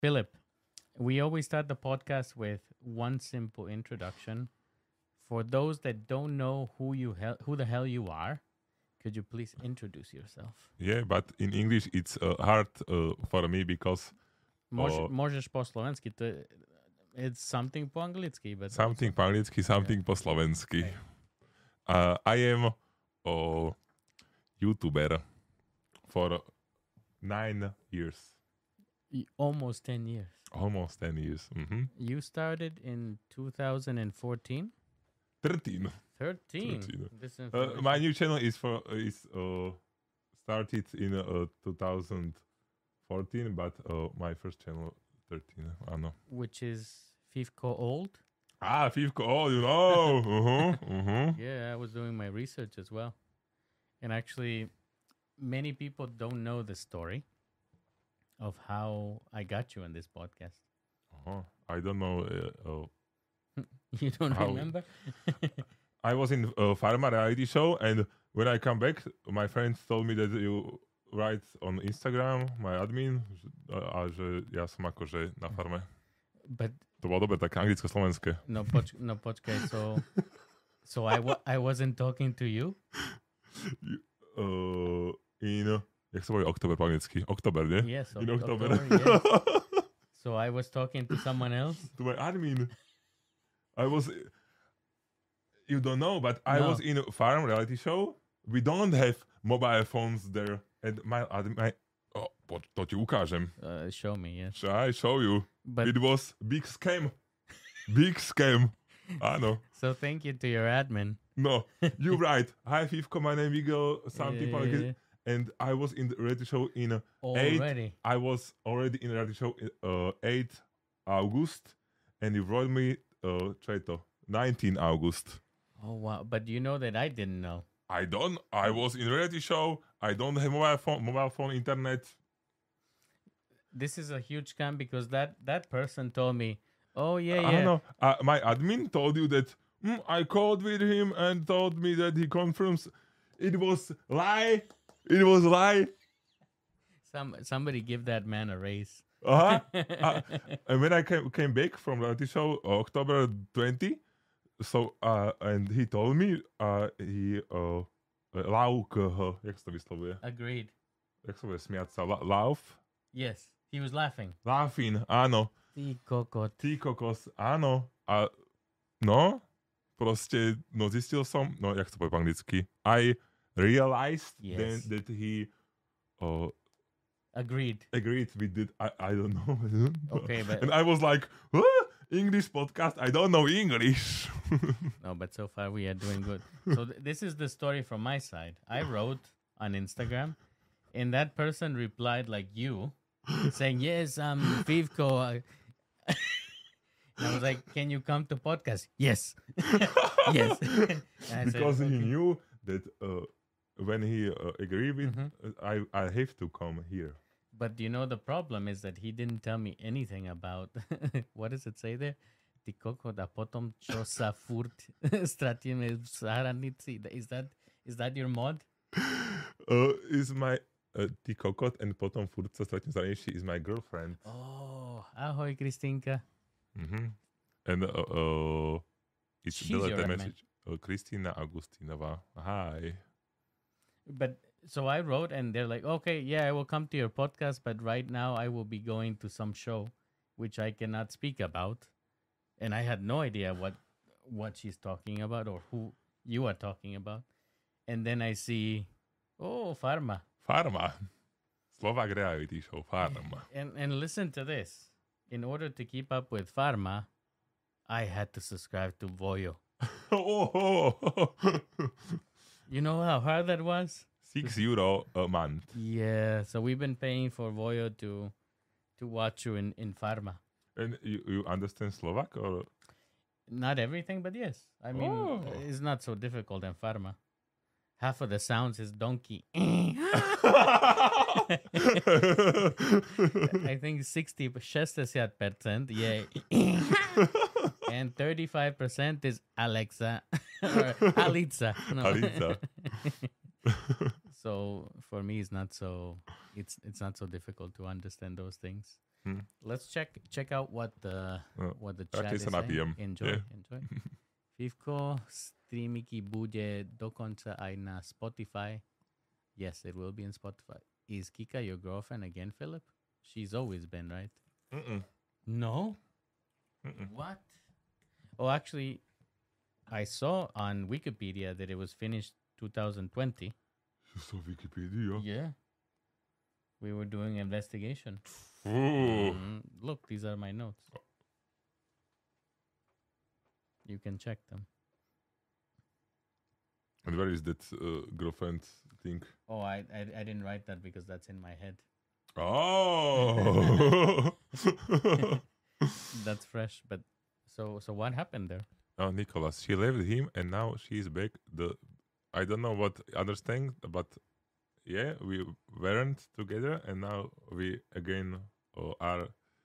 Philip, we always start the podcast with one simple introduction. For those that don't know who the hell you are, could you please introduce yourself? Yeah, but in English it's hard for me because Možeš po slovensky, it's something po anglicky, but something po anglicky, something po slovensky. Okay. I am a YouTuber for 9 years. Almost 10 years. Almost 10 years. Mm-hmm. You started in 2014? 13. 13. This My new channel is started in 2014, but my first channel 13. I know. which is Fivko old? Fivko, oh, you know. Yeah, I was doing my research as well. And actually, many people don't know the story of how I got you on this podcast. I don't know. You don't How? remember? I was in a Pharma reality show, and when I come back, my friends told me that you write on Instagram, my admin, a že ja som akože na farme. But To bolo dobre, také anglicko-slovenské. no, počkaj. So I wasn't talking to you. Jak sa povie október po anglicky? Október, nie? Yes. In October. Yes. So I was talking to someone else. To my admin. You don't know, but I No. was in a farm reality show. We don't have mobile phones there. And my to ti ukážem. Show me, yes. Shall I show you? But It was big scam. Big scam. Áno. so thank you to your admin. No, you're right. Hi, Fivko, my name is Igor, something like Yeah. it. And I was in the reality show in Already. I was already in the reality show 8 August, and you wrote me Četo, 19 August. Oh wow! But you know that I didn't know. I was in a reality show. I don't have mobile phone, internet. This is a huge scam because that person told me, "Oh yeah, I yeah." know. My admin told you that I called with him and told me that he confirms it was lie. It was lie. Somebody give that man a raise. And when I came back from reality show October 20, so and he told me he lauk, jak sa to vyslovuje? Agreed. Jak sa bude smiať sa? Lauf? Yes, he was laughing. Laughing, áno. Ty kokot. Ty kokos, áno. A no, proste, no zistil som, no jak sa povie po anglicky, I realized then Yes. that he Agreed. agreed with it. I don't know. Okay, but And I was like, huh? English podcast? I don't know English. no, but so far we are doing good. So this is the story from my side. I wrote on Instagram, and that person replied like you, saying, "Yes, I'm Fivko." And I was like, "Can you come to podcast?" Yes, yes. And I said, Because he "Okay." knew that when he agreed with, Mhm. I have to come here. But you know the problem is that he didn't tell me anything about what does it say there? Ty kokot a potom čo sa furt stratíme v zahranici. Is that your mod? Is my ty kokot and potom furt sa stretnem za is my girlfriend. Oh, ahoj Kristýnka. Mm-hmm. And it's She's your deleted admin. message. Kristina Augustinova. Hi. But so I wrote and they're like, okay, yeah, I will come to your podcast, but right now I will be going to some show which I cannot speak about. And I had no idea what she's talking about or who you are talking about. And then I see, oh, Pharma. Farma. Slovak reality show. Farma. And listen to this. In order to keep up with Pharma, I had to subscribe to Voyo. You know how hard that was? €6 a month. Yeah, so we've been paying for Voyo to watch you in Pharma. And you understand Slovak or? Not everything, but yes. I mean, Oh. it's not so difficult in Pharma. Half of the sounds is donkey. I think 60% yeah. And 35% is Alexa or Alitza. No. Alica. So for me, it's not so difficult to understand those things. Hm. Let's check out what the Ja, chat keď is sa saying. napijem. Enjoy, Yeah. enjoy. Fivko, streamiky bude dokonca aj na Spotify. Yes, it will be in Spotify. Is Kika your girlfriend again, Philip? She's always been, right? Mm-mm. No. Mm-mm. What? Oh, actually, I saw on Wikipedia that it was finished 2020. So Wikipedia. Yeah. We were doing investigation. Ooh. Look, these are my notes. You can check them. And where is that girlfriend thing? Oh, I didn't write that because that's in my head. Oh. That's fresh. But so what happened there? Oh, Nicholas. She left him and now she's back. I don't know what understand, but yeah, we weren't together and now we again are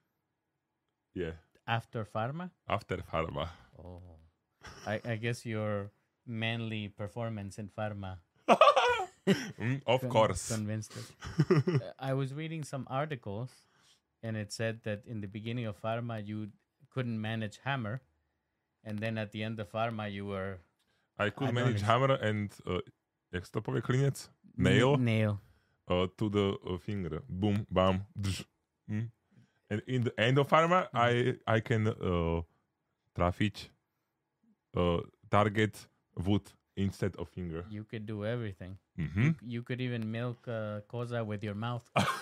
After Pharma? after Pharma. Oh. I guess your manly performance in Pharma Of course. convinced it. I was reading some articles and it said that in the beginning of Pharma you couldn't manage hammer, and then at the end of Pharma you were I could I don't manage ex- hammer and jak sa to povie klinec? Nail nail. to the finger. Boom, bam, drž. And in the end of Pharma, I can trafiť target wood instead of finger. You could do everything. Mm-hmm. You could even milk koza with your mouth.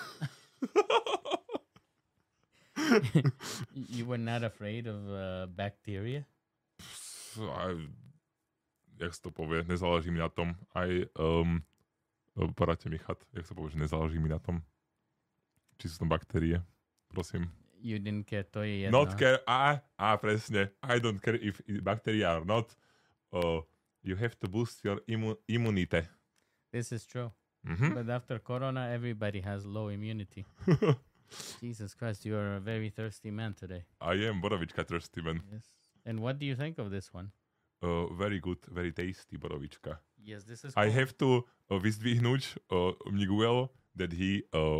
You were not afraid of bacteria? Jak sa to povie, nezáleží mi na tom. Aj poradte mi chat, jak sa povie, že nezáleží mi na tom. Či sú tam baktérie, prosím. You didn't care, to je jedno. Not care, presne. I don't care if bacteria or not. You have to boost your immunity. This is true. Mm-hmm. But after Corona, everybody has low immunity. Jesus Christ, you are a very thirsty man today. I am borovička thirsty man. Yes. And what do you think of this one? Very good, very tasty borovička. Yes, this is I cool. have to vyzdvihnúť Miguel that he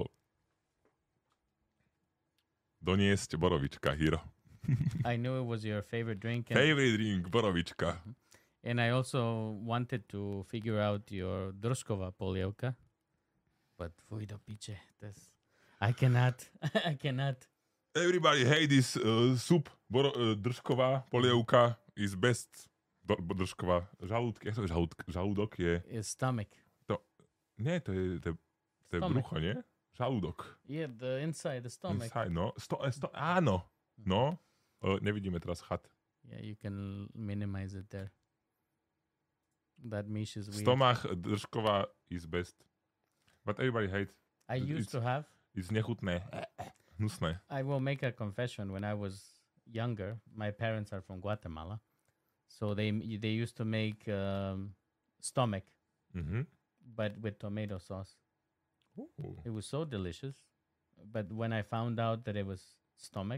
doniesť borovička here. I knew it was your favorite drink. And, Favorite drink, borovička. and I also wanted to figure out your Druskova polievka. But fuj do piče. I cannot. I cannot. Everybody hate this soup. Držková polievka is best. Držková. Žalúdok je... It's stomach. Nie, to je Stomach. brucho, nie? Žalúdok. Yeah, the inside, the stomach. Inside, no. Áno. No. Nevidíme teraz chat. Yeah, you can minimize it there. That mish is weird. Stomach držková is best. But everybody hate. I used to have. It's nechutné. Hnusné. I will make a confession. When I was younger, my parents are from Guatemala, so they used to make stomach, Mhm. but with tomato sauce. Ooh. It was so delicious. But when I found out that it was stomach,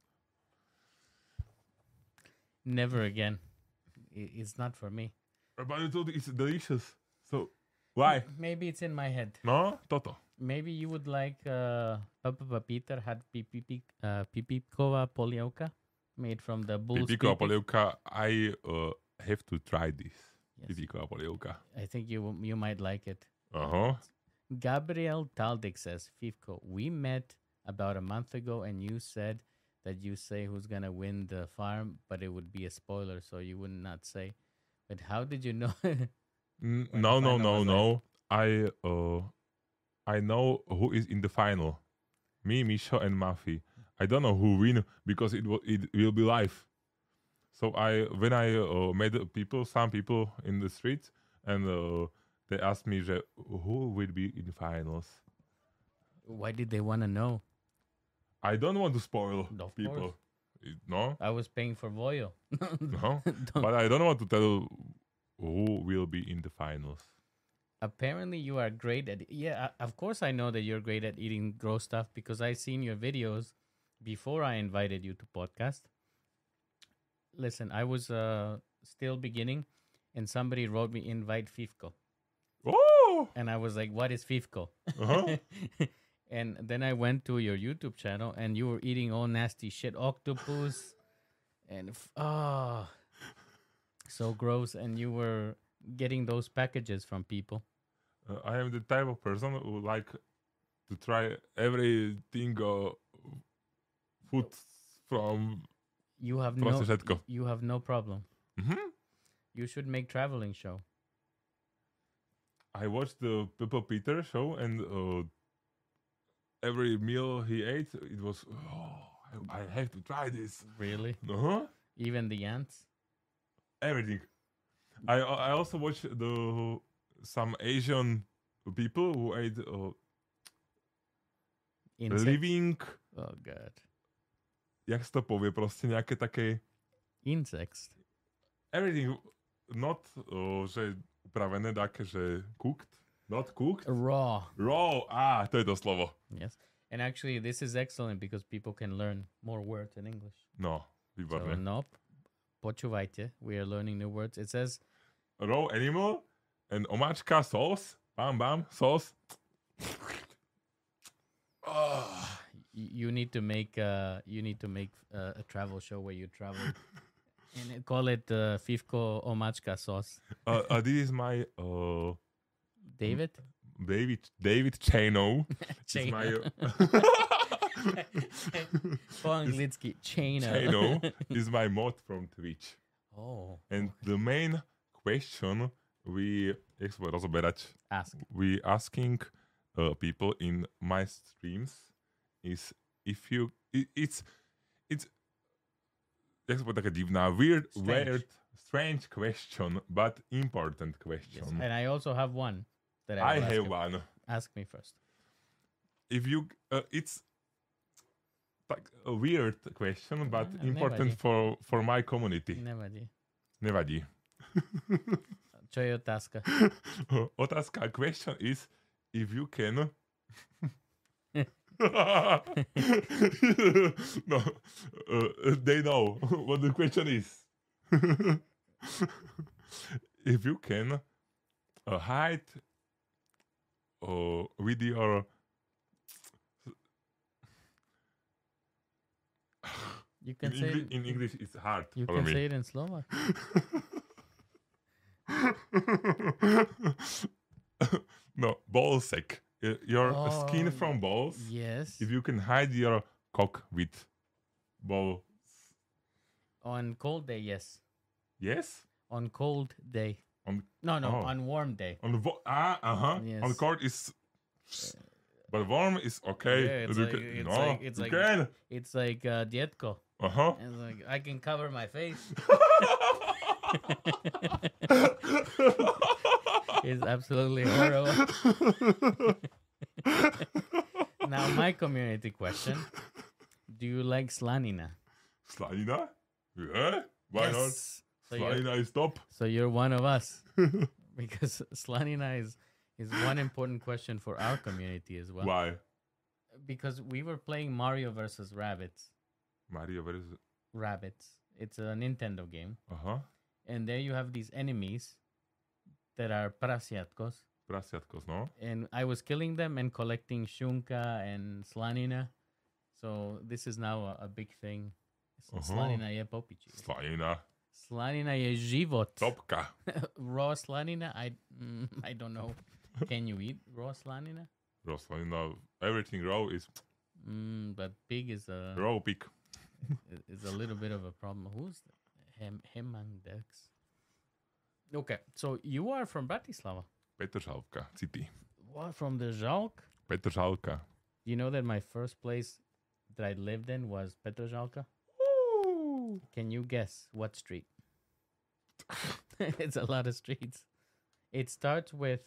never again. It's not for me. But you told it's delicious. So, why? Maybe it's in my head. No, toto. Maybe you would like Papa Peter had pipikova polievka made from the bull's Pipiková pipik. polievka. I have to try this. Yes. Pipiková polievka. I think you might like it. Aha. Gabriel Taldik says, Fivko, we met about a month ago and you said that you say who's going to win the farm, but it would be a spoiler, so you would not say. But how did you know? No, the no, final no, was no. I know who is in the final. Me, Misho, and Mafi. I don't know who win because it will be live. So when I met some people in the street, and they asked me who will be in finals. Why did they want to know? I don't want to spoil Of people. course. No, I was paying for Voyo. no. Don't- But I don't want to tell who will be in the finals. Apparently, you are great at. Yeah, of course, I know that you're great at eating gross stuff because I seen your videos before I invited you to podcast. Listen, I was still beginning, and somebody wrote me invite Fivko. Oh, Oh. and I was like, "What is Fifco?" Uh-huh. And then I went to your YouTube channel, and you were eating all nasty shit, octopus, and so gross. And you were getting those packages from people. I am the type of person who like to try everything food from You have proste no, všetko. you have no problem. Mhm. You should make traveling show. I watched the Peppa Peter show, and every meal he ate, it was, I have to try this. Really? Uh-huh. Even the ants? Everything. I also watched some Asian people who ate Insects? living, Oh god. jak sa to povie, proste nejaké také, Insects. everything, not, že upravené, také, že cooked, not cooked, Raw. raw, to je to slovo. Yes. And actually, this is excellent because people can learn more words in English. No, So, výborné. nope. Počúvajte. We are learning new words. It says, Raw animal and omáčka, sauce, bam, bam, sauce. you need to make a travel show where you travel and call it Fifco Omačka sauce. This is my David? David Chano. It's my Po anglicky. Chano. Chano is my mod from Twitch. Oh. And the main question we rozoberať, we asking people in my streams is if you it's jak sa povie, taká divná, strange question, but important question. Yes. And I also have one that I will ask have you. one. Ask me first. If you it's like a weird question, but important for my community. Nevadí. Nevadí. Čo je otázka? Otázka, question is if you can no, they know what the question is. If you can hide with your You can say it, in English it's hard you for can me. say it in Slovak. No, ball sack. Your skin Oh, from balls. Yes. If you can hide your cock with ball. On cold day, yes. Yes? On cold day. On No, Oh. on warm day. on the on Yes. cold is but warm is okay. Yeah, it's You like- can- it's no, like- it's you like- can. It's like Dietko. Uh-huh. It's like I can cover my face. It's absolutely horrible. Now my community question: do you like slanina? Slanina? Yeah. Why not? Yes. So you're, Slanina is top. so you're one of us because slanina is one important question for our community as well. Why? Because we were playing Mario versus Rabbits. Mario, where is it? Rabbits. It's a Nintendo game, Uh-huh. and there you have these enemies that are prasiatkos, Prasiatkos, no? and I was killing them and collecting shunka and slanina. So this is now a big thing. Slanina je popiči. Slanina. Slanina je život. Topka. Raw slanina, I don't know. Can you eat raw slanina? Raw slanina. Everything raw is But pig is a raw pig. little bit of a problem. Who's Hemangdex? Okay, so you are from Bratislava. Petržalka. City. What, from the Žalk? Petržalka. You know that my first place that I lived in was Petržalka? Ooh. Can you guess what street? It's a lot of streets. It starts with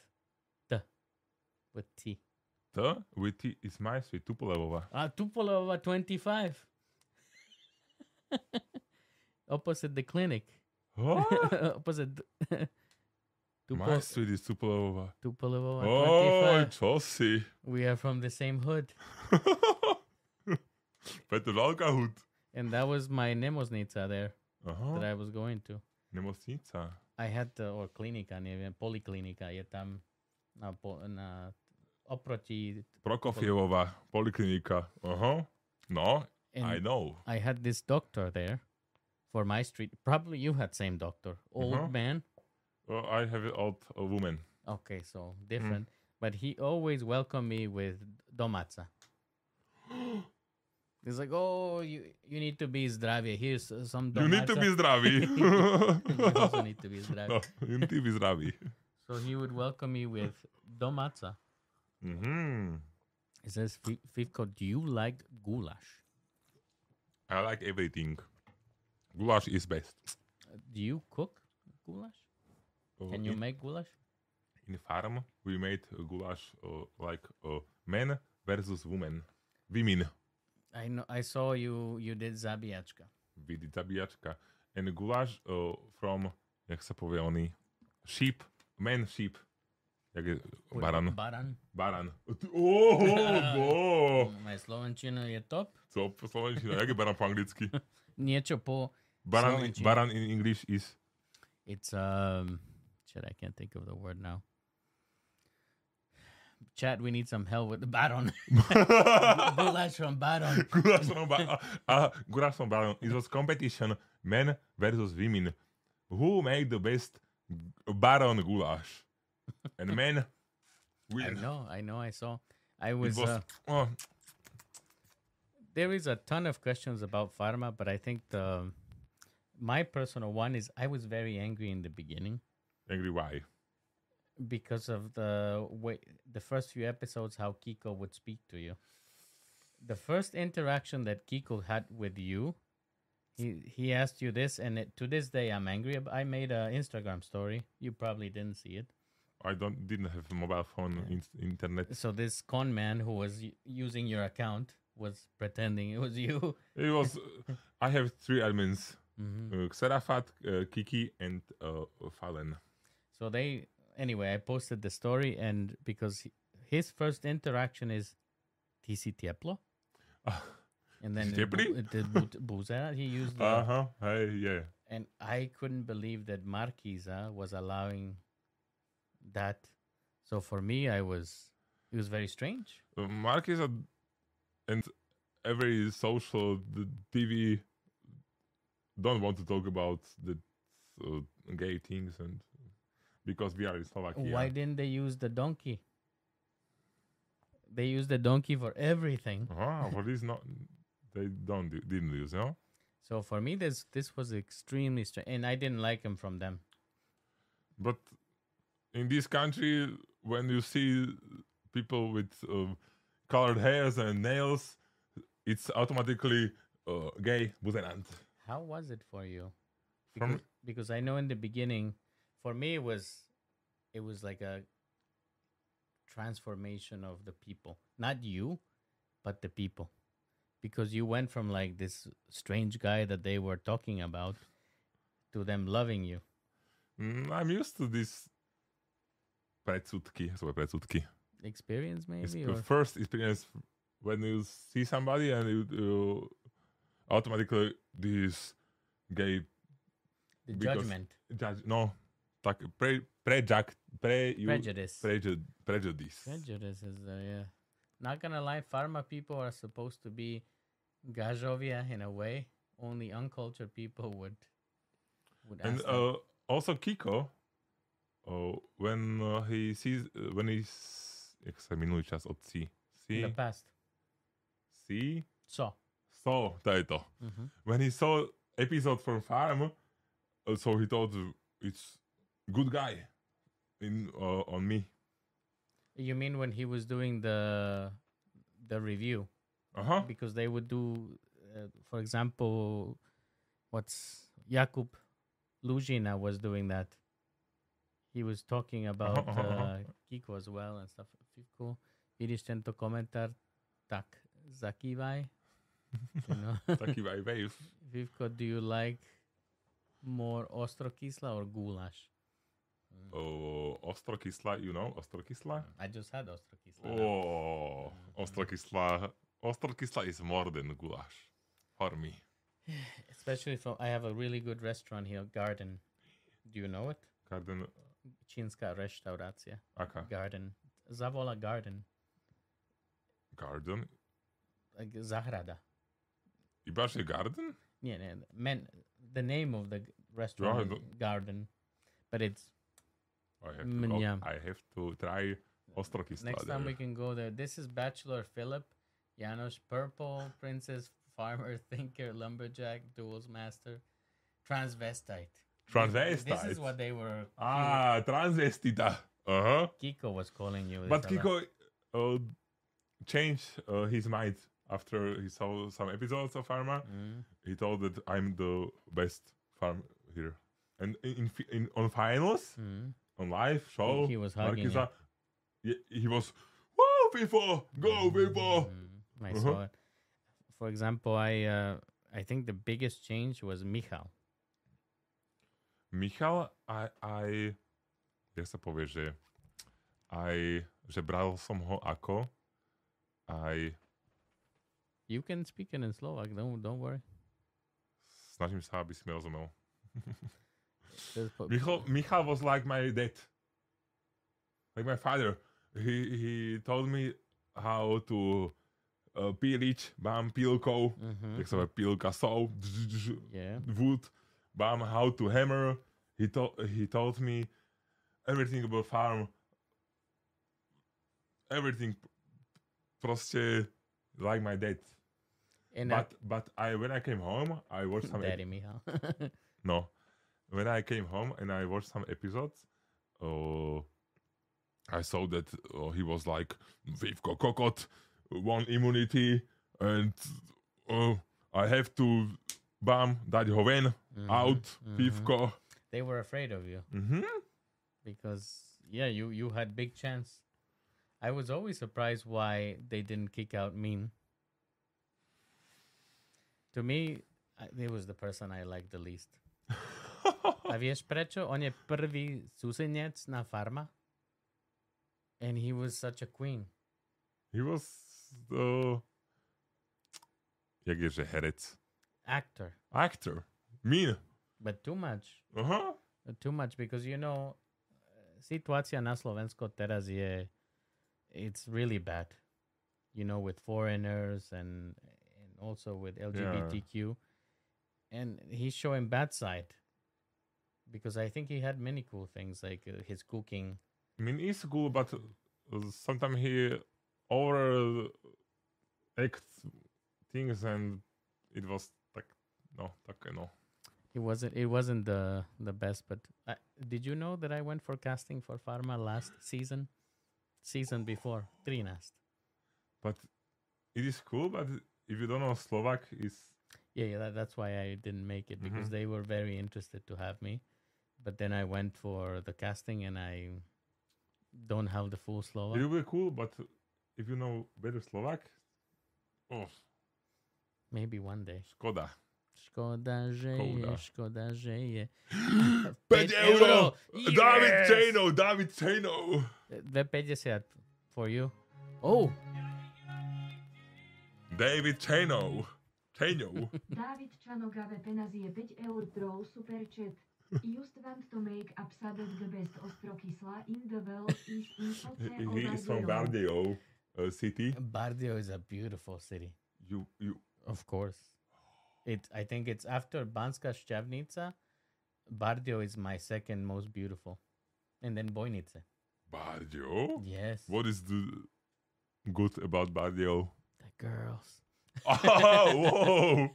T. The with T is my street. Tupolevova. Tupolova 25. Opposite the clinic. What? Opposite My street is Tupolevova. Tupolova Oh, 25. čo si? We are from the same hood. Petržalka hud. And that was my nemocnica there that Aha. I was going to. Nemocnica. I had or klinika, neviem, poliklinika je tam oproti. Prokofievova poliklinika. No, I And know. I had this doctor there for my street. Probably you had same doctor, old man. I have an old woman. Okay, so different. But he always welcomed me with domaca. He's like, oh, you need to be zdravie. Here's some domaca. You need to be zdravý. And you also need to be zdravie. No, you need to be zdravý. So he would welcome me with domaca. He says, Fivko, do you like goulash? I like everything. Goulash is best. Do you cook goulash? Can you make goulash? In farm, we made goulash like men versus women. Women. I know. I saw you did zabijačka. We did zabíjačka. And goulash from, jak sa povie oný, sheep. Man sheep. Jak je baran. Baran. Moja slovenčina je top. Co po slovenčine? Jak je baran po anglicky? Niečo po slovenčine. Baran in English is? It's shit, I can't think of the word now. Chat, we need some help with the baron. Goulash from baron. Goulash from baron. It was competition, men versus women. Who made the best baron goulash? And men win. I know. I saw. I was. Oh, there is a ton of questions about pharma, but I think my personal one is I was very angry in the beginning. angry why? Because of the way the first few episodes, how Kiko would speak to you. The first interaction that Kiko had with you, he asked you this, and to this day I'm angry. I made an Instagram story. You probably didn't see it. I didn't have a mobile phone, internet. So this con man who was using your account was pretending it was you. It was. I have 3 admins: Xerafat, Kiki, and Fallen. So anyway, I posted the story, and because his first interaction is TC Tieplo. And then Buzera, he used the... Hey, yeah. And I couldn't believe that Marquisa was allowing that. So for me, it was very strange. Marquisa and every social TV don't want to talk about the gay things, and because we are in Slovakia. Why didn't they use the donkey? They use the donkey for everything. For this not, they didn't use, no? So for me, this was extremely strange, and I didn't like him from them. But in this country, when you see people with colored hairs and nails, it's automatically gay, buzenant. How was it for you? From Because I know in the beginning, for me it was like a transformation of the people, not you, but the people, because you went from like this strange guy that they were talking about to them loving you. I'm used to this predsudky. Experience maybe, It's or the first experience when you see somebody and you automatically this gay the judgment, no, tak prejudice. Prejudice is yeah. Not gonna lie, pharma people are supposed to be gajovia in a way. Only uncultured people would and ask them. Also Kiko, when he sees jak sa minulý čas od In the past. So to je to. When he saw episode from Farm, so he thought it's good guy on me. You mean when he was doing the review? Because they would do, for example, what's Jakub Lužina was doing that. He was talking about Kiko as well and stuff. Fivko, vidíš tento komentár, tak zakývaj. You know? Zakývaj wave. Fivko, do you like more ostrokysla or goulash? Ostrokysla, you know, ostrokysla? I just had ostrokysla. Ostrokysla. Ostrokysla is more than goulash for me. Especially I have a really good restaurant here, Garden. Do you know it? čínska reštaurácia. Aká? Garden. Zavola Garden. Garden? Zahrada. Iba že Garden? Nie. The name of the restaurant is Garden. But it's... I have to try Ostrokysla. Next time we can go there. This is Bachelor Philip, Janos Purple, Princess, Farmer, Thinker, Lumberjack, Duels Master, Transvestite. This is what they were... Transvestita. Uh-huh. Kiko was calling you. But Kiko changed his mind after he saw some episodes of Pharma. He told that I'm the best farm here. And on finals, on live show, he was hugging you. He was, whoa, people, go, people. I saw it. For example, I think the biggest change was Michal. Michal, jak sa povie, že bral som ho ako You can speak it in Slovak, don't worry. Snažím sa, aby si mi rozumel. Michal Michal was like my dad. Like my father. He told me how to píliť, bám, pílkou, jak sa povie, pílka, saw, wood, bám, how to hammer. He told me everything about farm. Everything proste like my dad. But when I came home, I watched some... Daddy Michal. No. When I came home and I watched some episodes, I saw that he was like, Vivko Kokot, one immunity, and I have to, dať ho ven, out, Vivko. They were afraid of you. Because, you had big chance. I was always surprised why they didn't kick out Min. To me, he was the person I liked the least. A vieš prečo? On je prvý súsenec na Farma. And he was such a queen. He was jak je, že herec? Actor. Mean. But too much. Uh-huh. Too much because, situácia na Slovensko teraz je, it's really bad. With foreigners and also with LGBTQ. And he's showing bad side. Because I think he had many cool things, like his cooking. I mean, it's cool, but sometimes he over acts things, and it was no. It wasn't the best, but did you know that I went for casting for Pharma last season before, 13. But it is cool, but if you don't know Slovak, that's why I didn't make it, because they were very interested to have me. But then I went for the casting and I don't have the full Slovak. It will be cool, but if you know better Slovak, maybe one day. Škoda, že je. 5 euro! Yes! David Chainov! 2,50 for you. Oh! David Chainov. David Chanogave penazie 5 eur throw super chat. Just want to make upset the best Ostrokysla in the world is in He is from Bardejov city. Bardejov is a beautiful city. You Of course. I think it's after Banska Štiavnica. Bardejov is my second most beautiful. And then Bojnice. Bardejov? Yes. What is the good about Bardejov? The girls. Oh, whoa!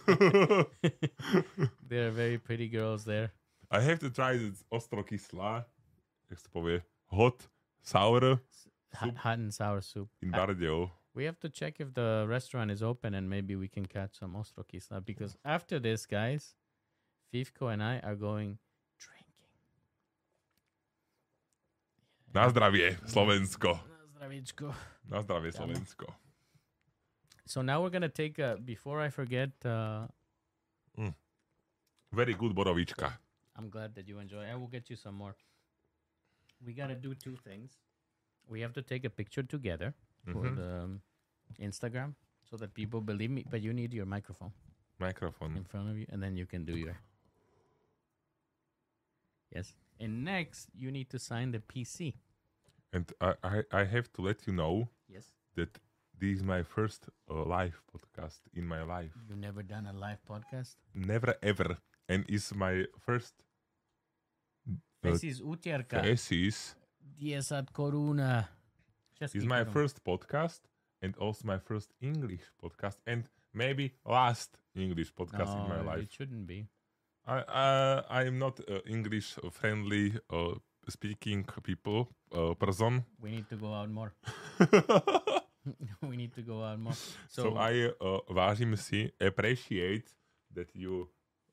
There are very pretty girls there. I have to try this Ostrokysla, jak sa povie, hot, sour soup Hot and sour soup. in Bardejov. We have to check if the restaurant is open and maybe we can catch some Ostrokysla, because after this, guys, Fivko and I are going drinking. Na zdravie, Slovensko. Na zdravíčko. Na zdravie, Slovensko. So now we're going to take, before I forget... Very good borovička. I'm glad that you enjoy. I will get you some more. We got to do two things. We have to take a picture together for the Instagram so that people believe me, but you need your microphone in Mikrofón. front of you, and then you can do your... Yes? And next, you need to sign the PC. And I have to let you know Yes. that this is my first live podcast in my life. You've never done a live podcast? Never ever. And it's my first This is utierka. thesis. 10 koruna. It's my first podcast and also my first English podcast and maybe last English podcast in my No, life. it shouldn't be. I am not English friendly speaking person. We need to go out more. We need to go out more. So I vážim si appreciate that you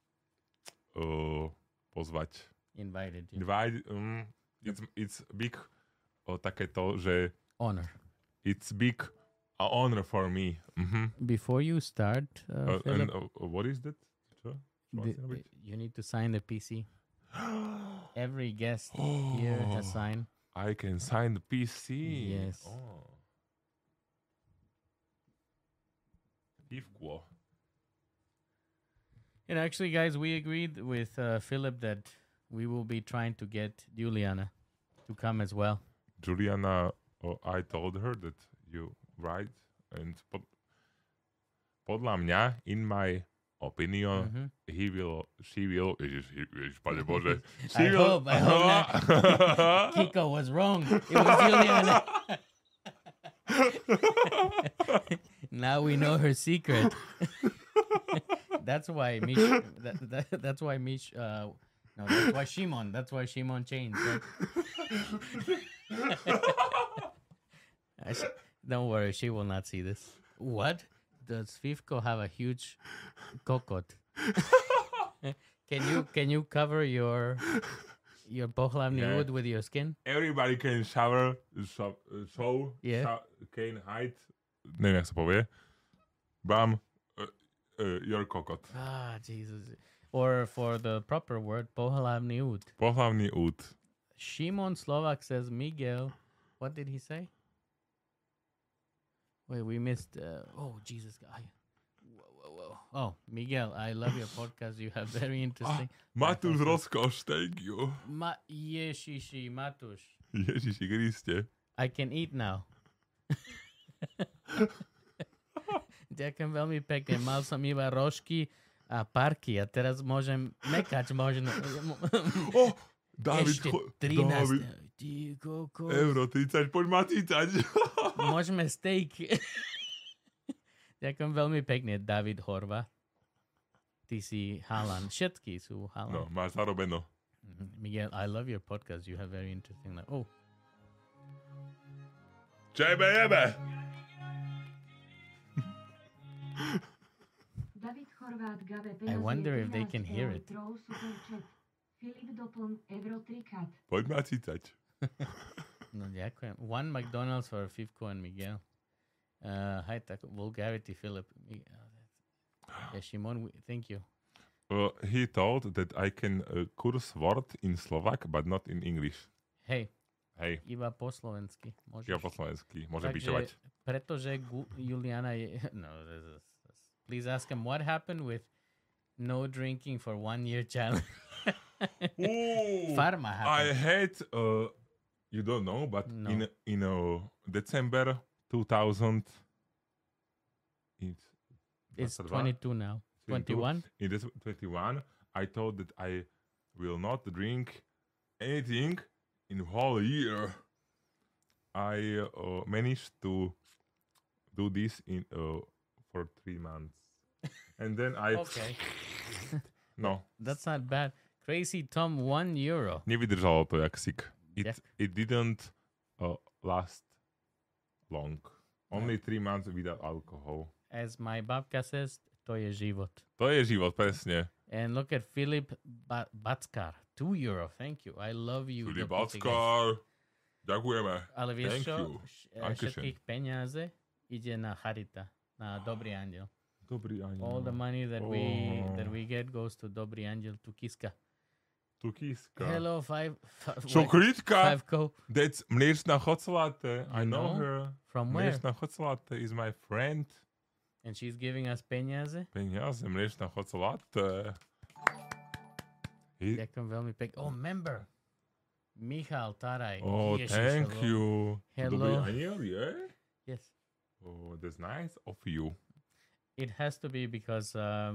pozvať. Invited you. Invite, it's big takéto, že Honor. it's big honor for me. Before you start, And Philip, what is that? you need to sign the PC. Every guest here has signed. I can sign the PC. Yes. Oh. Pivko. And actually, guys, we agreed with Philip that we will be trying to get Juliana to come as well. Juliana, I told her that you right and podľa mňa, in my opinion, she will, Ježiš, Pane Bože, I hope not. Kiko was wrong. It was Juliana. Now we know her secret. That's why Mish. That's why Mish. No, that's why Shimon. That's why Shimon changed. Right? Don't worry, she will not see this. What? Does Fivko have a huge kokot? Can you cover your pohlavný Yeah. wood with your skin? Everybody can show, Yeah. can hide, neviem, jak sa povie, bam, your kokot. Ah, Jesus. Or for the proper word, pohlavný wood. Pohlavný út. Shimon Slovak says Miguel. What did he say? Wait, we missed. Oh, Jesus. Whoa. Oh, Miguel, I love your podcast. You have very interesting. Matúš Rozkoš, thank you. Ježiši, Matuš. Ježiši Kriste. I can eat now. Ďakujem veľmi pekne. Mal som iba rožky a parky a teraz môžem mekať možno. David, Ešte 13. David, Ty kokos. euro 30, poď ma cítať. Môžeme steak. Ďakujem veľmi pekne, David Horva. Ty si Halan. Všetky sú Halan. No, máš zarobeno. Miguel, I love your podcast. You have very interesting life. Oh, Čebe jebe. David Chorvát Gabe I wonder if they can hear it. Super chat. Filip doplň euro 3 Poď ma cítať. no ďakujem. One McDonald's for Fivko and Miguel. Hi, tak vulgarity, Philip. Yeah, Shimon, thank you. He told that I can curse word in Slovak, but not in English. Hej, Hej, iba po slovensky. Môžeš. ja po slovensky. Môžem Takže, pičovať. pretože Juliana je... No, please ask him what happened with no drinking for 1 year challenge. Farma I happened. had, you don't know, but No. in December 2000, It's 22. 22 now. 22. 21? In this 21, I thought that I will not drink anything in whole year. I managed to do this in for 3 months, and then I Okay. no That's not bad. Crazy Tom, €1. nevydržalo to jak sik. Yeah. It didn't last long. Only 3 months without alcohol. As my babka says, to je život. To je život, presne. And look at Filip Backar, €2. Thank you. I love you. Filip do Portuguese. Backar, ďakujeme. Ale vieš Thank čo? you. Dankeschön. Všetkých peniaze ide na charita, na Dobrý anděl. Dobrý ani. All the money that we get goes to Dobrý anděl, to Kiska. Tukíska. Hello, Čokritka. 5 That's mliečna chocolate. I know know? her. From where? Mliečna chocolate is my friend. And she's giving us peniaze. Peniaze, mliečna chocolate. Ďakujem veľmi pekne. Oh, member. Michal Taraj. Oh, Ježiš, thank hello. you. Hello. Dobrý aniel, yeah? Yes. Oh, that's nice of you. It has to be because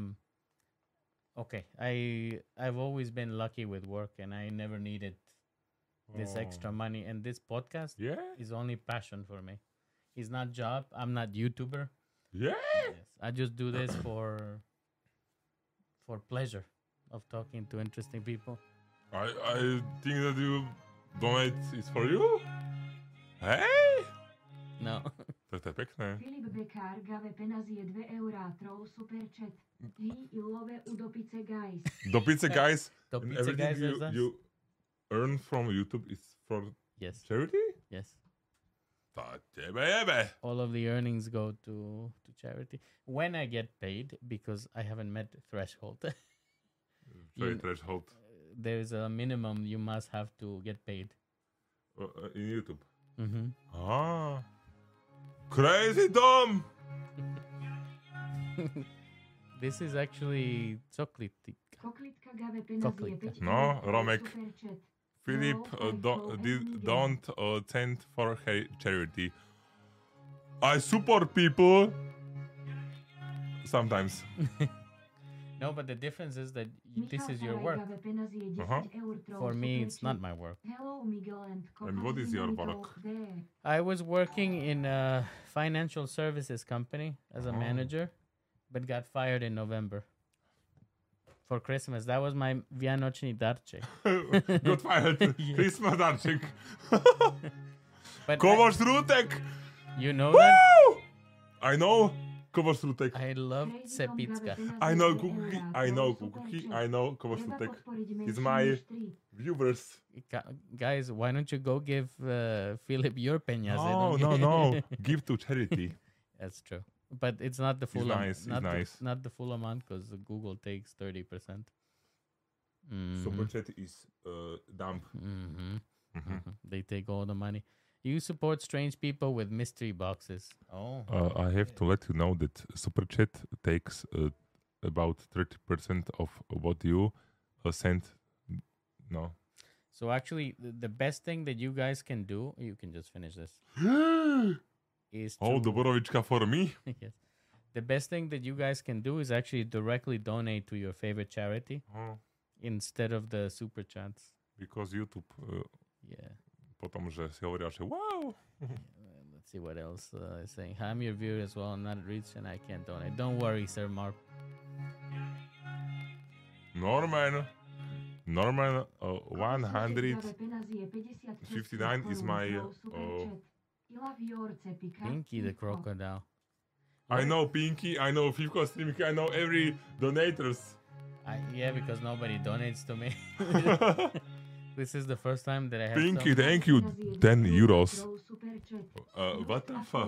okay, I've always been lucky with work and I never needed this extra Oh. money, and this podcast Yeah? is only passion for me. It's not job. I'm not YouTuber. Yeah? Yes. I just do this for pleasure of talking to interesting people. I think that you donate is for you. Hej! No. Tak to je pekné. Filip Bekár gave penazie 2 eurá, troll super chat. Hi I love udopice guys. Do pice, guys. To And pizza guys everything is us? you earn from YouTube is for Yes. charity? Yes. Ta tebe jebe. All of the earnings go to charity when I get paid, because I haven't met threshold. Čo je You- threshold? There's a minimum you must have to get paid. In YouTube. Mm-hmm. Ah. Crazy Dom! This is actually Coklitik. Koklitka gave penazie Koklitka. 5 No, eur, troll Romek. super chat. Philip, Hello, don't send for charity. I support people. Sometimes. No, but the difference is that this Michal is your Taraj work. gave penazie 10 Uh-huh. eur, troll For me, super it's not chat. my work. Hello Miguel and And what is your work? There. I was working in a financial services company as a Oh. manager, but got fired in November for Christmas. That was my Vianočný darček. Got fired. Yes. Christmas darček. But Kovač Rutek. you know that? Woo! I know Kovač Rutek. I love Crazy Tom gave Cepicka. penazie I know 2 Kukuki. eurá, I know troll super Kukuki. chat. I know Kovač Treba Rutek. podporiť He's menšie my než 3. viewers. Guys, why don't you go give Philip your peñas? No, no, no. Give to charity. That's true. But it's not the full nice, he's not, nice. not the full amount, because Google takes 30%. Super chat is dump. Mm-hmm. Mhm. They take all the money. You support strange people with mystery boxes. Oh. I have to let you know that Super Chat takes about 30% of what you send. No. So actually, the best thing that you guys can do, you can just finish this, is Oh, to, Doborovička for me. yes. The best thing that you guys can do is actually directly donate to your favorite charity Oh, instead of the super chats. because YouTube Yeah. potom, že si hovoria, že wow. Let's see what else is saying. I'm your viewer as well. I'm not rich and I can't donate. Don't worry, Sir Mark. Norman, 159 59 is my, I love your Cepika. Pinky the crocodile. I know Pinky, I know Fivko Streamky, I know every donators. Yeah, because nobody donates to me. This is the first time that I have Pinky, some- thank you, 10 euros. What the fuck?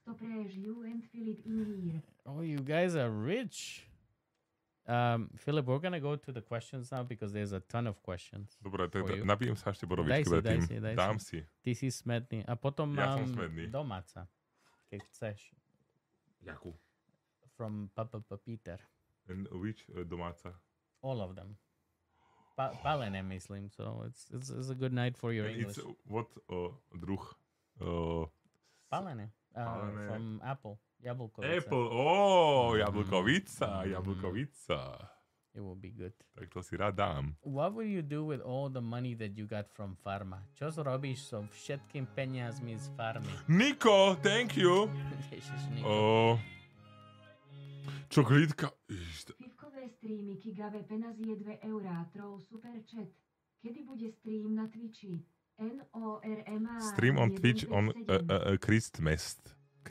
Oh, you guys are rich. Philip, we're gonna go to the questions now because there's a ton of questions. Dobre, For you. napijem sa ešte Daj borovičky si, predtým. daj si. Dám si. Ty si smedný. A potom Ja mám som smedný. domáca, keď chceš. Jakú? From Papa Peter. And which domáca? All of them. Palené, myslím. So it's a good night for your And English. it's what druh? Palené. Palené. From Apple. Jablko. Apple, jablkovica. It will be good. Tak to si rád dám. What will you do with all the money that you got from farma? Čo zrobíš so všetkým peniazmi z farmy? Niko, thank you. Ježiš, Niko. Čokolítka. Fivkové streamiky gave penazie 2 eurá, troll super chat. Kedy bude stream na Twitchi? NORMA Stream on Twitch on Christmas.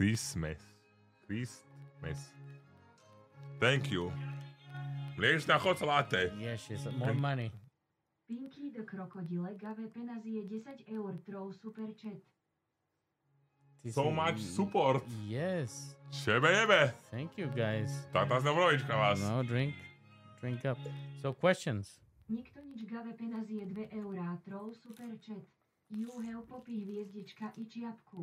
Thank you. Mliečna chocolate. Yes, yes, more money. Pinky the Krokodile gave penazie 10 eur, troll super chat. So much support. Yes. Šebe jebe. Thank you, guys. Táta Znobrovička vás. No, drink up. So, questions. Nikto nič gave penazie 2 eurá, troll super chat. You have popí hviezdička i čiapku.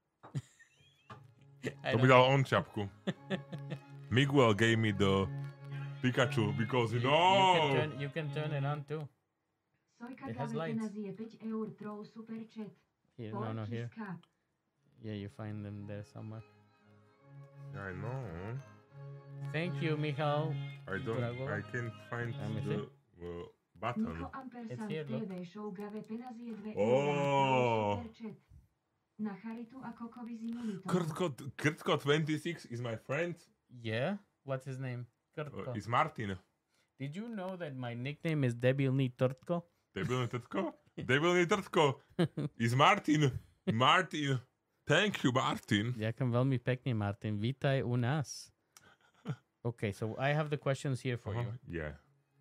To by dal on čapku. Miguel gave me the Pikachu because You no. can turn it on too. Sojka It has Gabe lights. Penaz je 5 eur troll super chat. Here, no, here. Kiska. Yeah, you find them there somewhere. Yeah, I know. Thank you, Michal. I can't find Let me the button. Niko Ampersand It's here, look. TV show Gabe Penaz je 2 Oh. eurá troll super chat. Na charitu a kokovi z imunitou. Krtko 26 is my friend. Yeah? What's his name? Krtko. Is Martin. Did you know that my nickname is Debilny Tortko? Debilný Trtko? Debilný Trtko. Is Martin. Martin. Thank you, Martin. Ďakujem veľmi pekne, Martin. Vítaj u nás. Okay, so I have the questions here for you. Yeah.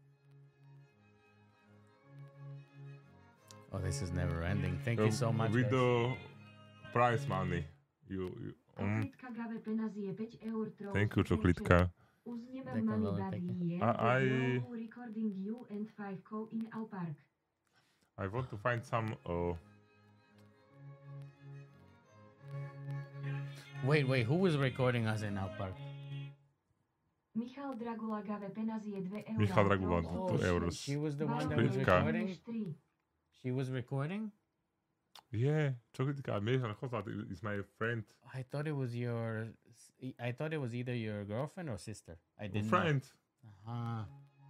Oh, this is never ending. Thank you so much, With guys. the prize money. You Čoklitka Gabe Penaz je 5 eur troll Thank you, super chat. Čoklitka. Uzneme Ďakujem money veľmi bad pekne. year. Recording you and 5 in Al Park. I want to find some... Wait, who was recording us in Out Park? Michal Dragula Gabe Penaz je 2 eurá. Michal Dragula, troll 2 super euros. chat. She was the one that Baron was Čoklitka. recording? než 3. She was recording? Yeah, Čoklitka. Miešan Chozat is my friend. I thought it was either your girlfriend or sister. I didn't Friend. know. Aha.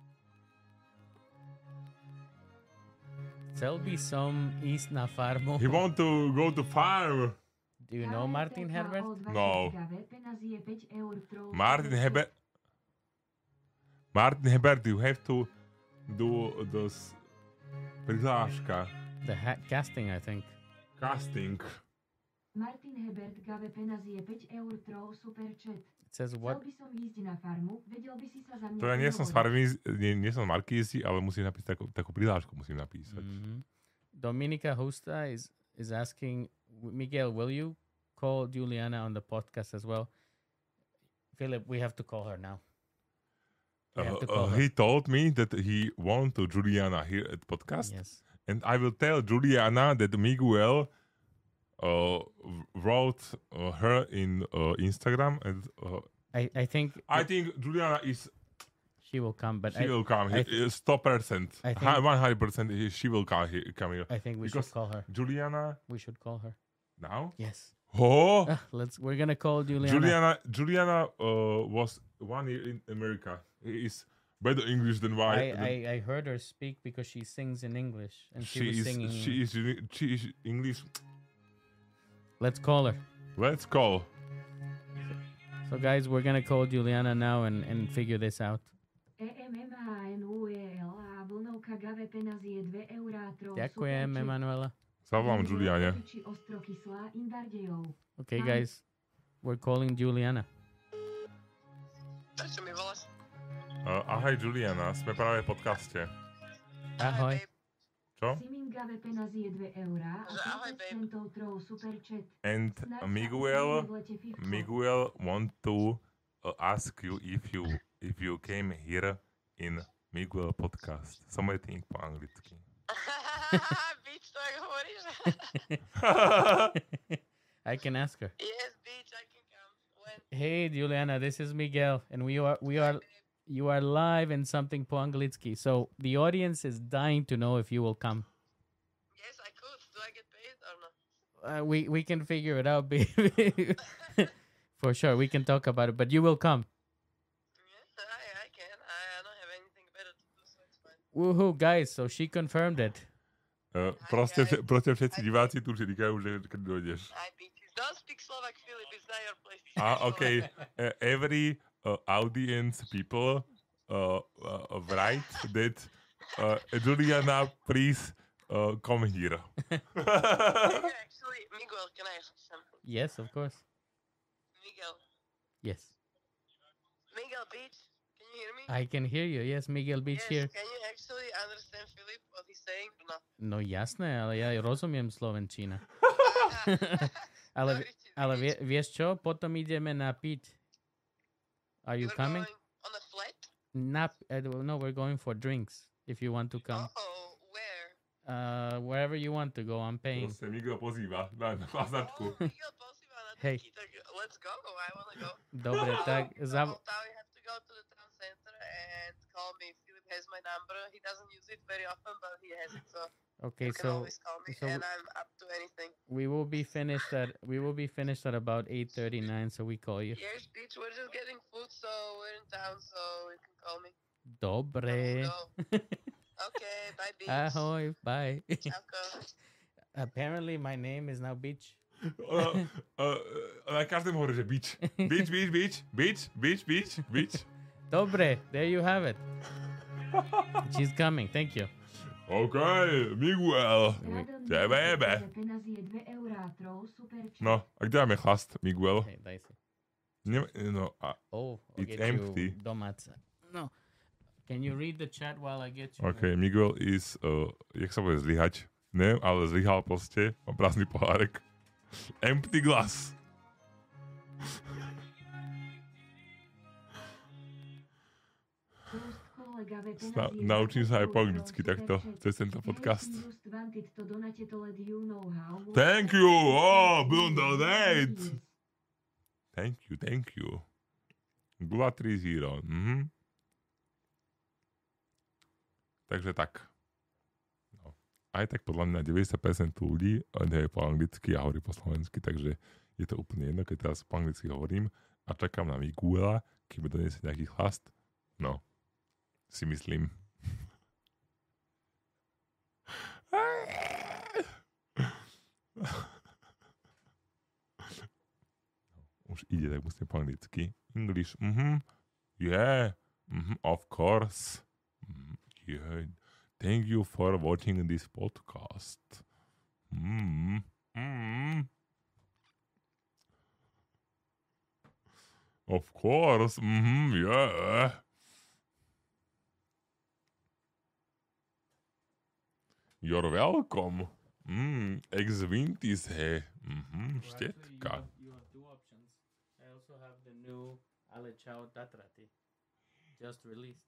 Selby som ísť na farmu. He want to go to farm. Do you know Martin Herbert? No. Gabe Penaz je 5 eur troll Martin super chat. Herbert. Martin Herbert, you have to do this prihláška. The casting, I think. Casting. Martin Hebert Gabe Penaz je 5 eur troll super chat. It says Chcel what? by som ísť na farmu, vedel by si sa za mňa To ja nie som z prihovoriť. farmy, nie som z Markízy, ale musím napísať takú prihlášku musím napísať. Mhm. Dominica Husta is asking, Miguel, will you call Juliana on the podcast as well? Philip, we have to call her now. We have to call her. He told me that he want to Juliana here at podcast, Yes. and I will tell Juliana that Miguel wrote her in Instagram, and I think I think Juliana is she will come, but she will come. I 100%, I think- 100%. She will come here. I think we because- should call her. Juliana We should call her. now. Yes. Oh, We're gonna call Juliana. Juliana was 1 year in America. He is better English than I heard her speak because she sings in English and she was singing. She is English. Let's call her. Let's call. So guys, we're gonna call Juliana now and figure this out. EMMANUELA vlnovka Gabe Penaz je 2 eurá troll Ďakujem, super chat. Emanuela. Zavolám Juliane. Či Ostrokyslá Indardejov. Okay, Hi. guys, we're calling Juliana. Prečo mi voláš? Ahoj Juliana, sme práve v podcaste. Ahoj. babe. Čo? Simin Gabe Penaz je 2 eurá a Že ahoj, 30 babe. centov troll super chat. And Snáď sa Miguel uvidíme v lete, Fifko. Miguel want to ask you if you came here in Miguel podcast. Something po anglicky. Bitch, to jak hovoríš? I can ask her. Yes, bitch, I can come. When? Hey, Juliana, this is Miguel, and you are live in something po anglicky. So the audience is dying to know if you will come. Yes, I could. Do I get paid or not? We can figure it out, baby. For sure, we can talk about it. But you will come. Yes, I can. I don't have anything better to do, so it's fine. Woohoo, guys! So she confirmed it. Proste všetci diváci tu říkajú, že keď dojdeš. I bitches. Don't speak Slovak, Philip. It's not your place. to Ah, speak okay. Slovak. Every audience people write that Juliana, please come here. Actually, Miguel, can I ask you something? Yes, of course. Miguel. Yes, Miguel, bitch. Can you hear me? I can hear you. Yes, Miguel Beach yes, here. Can you actually understand Philip, what he's saying or not? No jasné, ale ja rozumiem slovenčina. Ale, Sorry, ale bitch. vieš čo? Potom ideme na piť. Are you We're coming? going on a flight? No, we're going for drinks. If you want to come. Oh, where? Wherever you want to go, I'm paying. Proste Miguel pozýva na chladzačku. Oh, Miguel pozýva na Hej. taký, tak let's go. I wanna go. Dobre, tak So now we have to go to the town center and call me Philip has my number. He doesn't use it very often, but he has it, so Okay, you can so always call me, so and I'm up to anything. we will be finished at about 8:39. So we call you. Yes, bitch, we're just getting food, so we're in town, so you can call me. Dobre. Okay, bye, bitch. Ahoy. Bye. Čauko. Apparently, my name is now Beach. Na každém hovorí, že bitch. Bitch, bitch, bitch, bitch, bitch, bitch, bitch. Dobre. There you have it. She's coming. Thank you. OK, Miguel. Radom Tebe jebe. penazie 2 eurá troll super chat. No, a kde máme chlast, Miguel? Hey, daj si. No, a Oh, I'll It's get empty. you domáca. No. Can you read the chat while I get you? OK, Miguel is, jak sa bude zlyhať? Neviem, ale zlyhal proste. Má prázdny pohárek. Empty glass. Prost kolega ve Sna- penazie naučím sa aj 2 po anglicky super takto, chat. cez tento podcast. Hey, you just wanted to donate to let you know how much- Thank you! Oh, don't donate! Yes. Thank you. Gula 3-0. Takže tak. No. Aj tak podľa mňa 90% ľudí nevie po anglicky a hovorí po slovensky, takže je to úplne jedno, keď teraz po anglicky hovorím a čakám na Miguela, keď mi doniesie nejaký chlast. No, si myslím. Už ide, tak musím po anglicky. English, yeah, of course. Yeah, thank you for watching this podcast. Of course, yeah. You're welcome. Ex-Vintis, he. Štetka. You have two options. I also have the new Alechao Tatrati. Just released.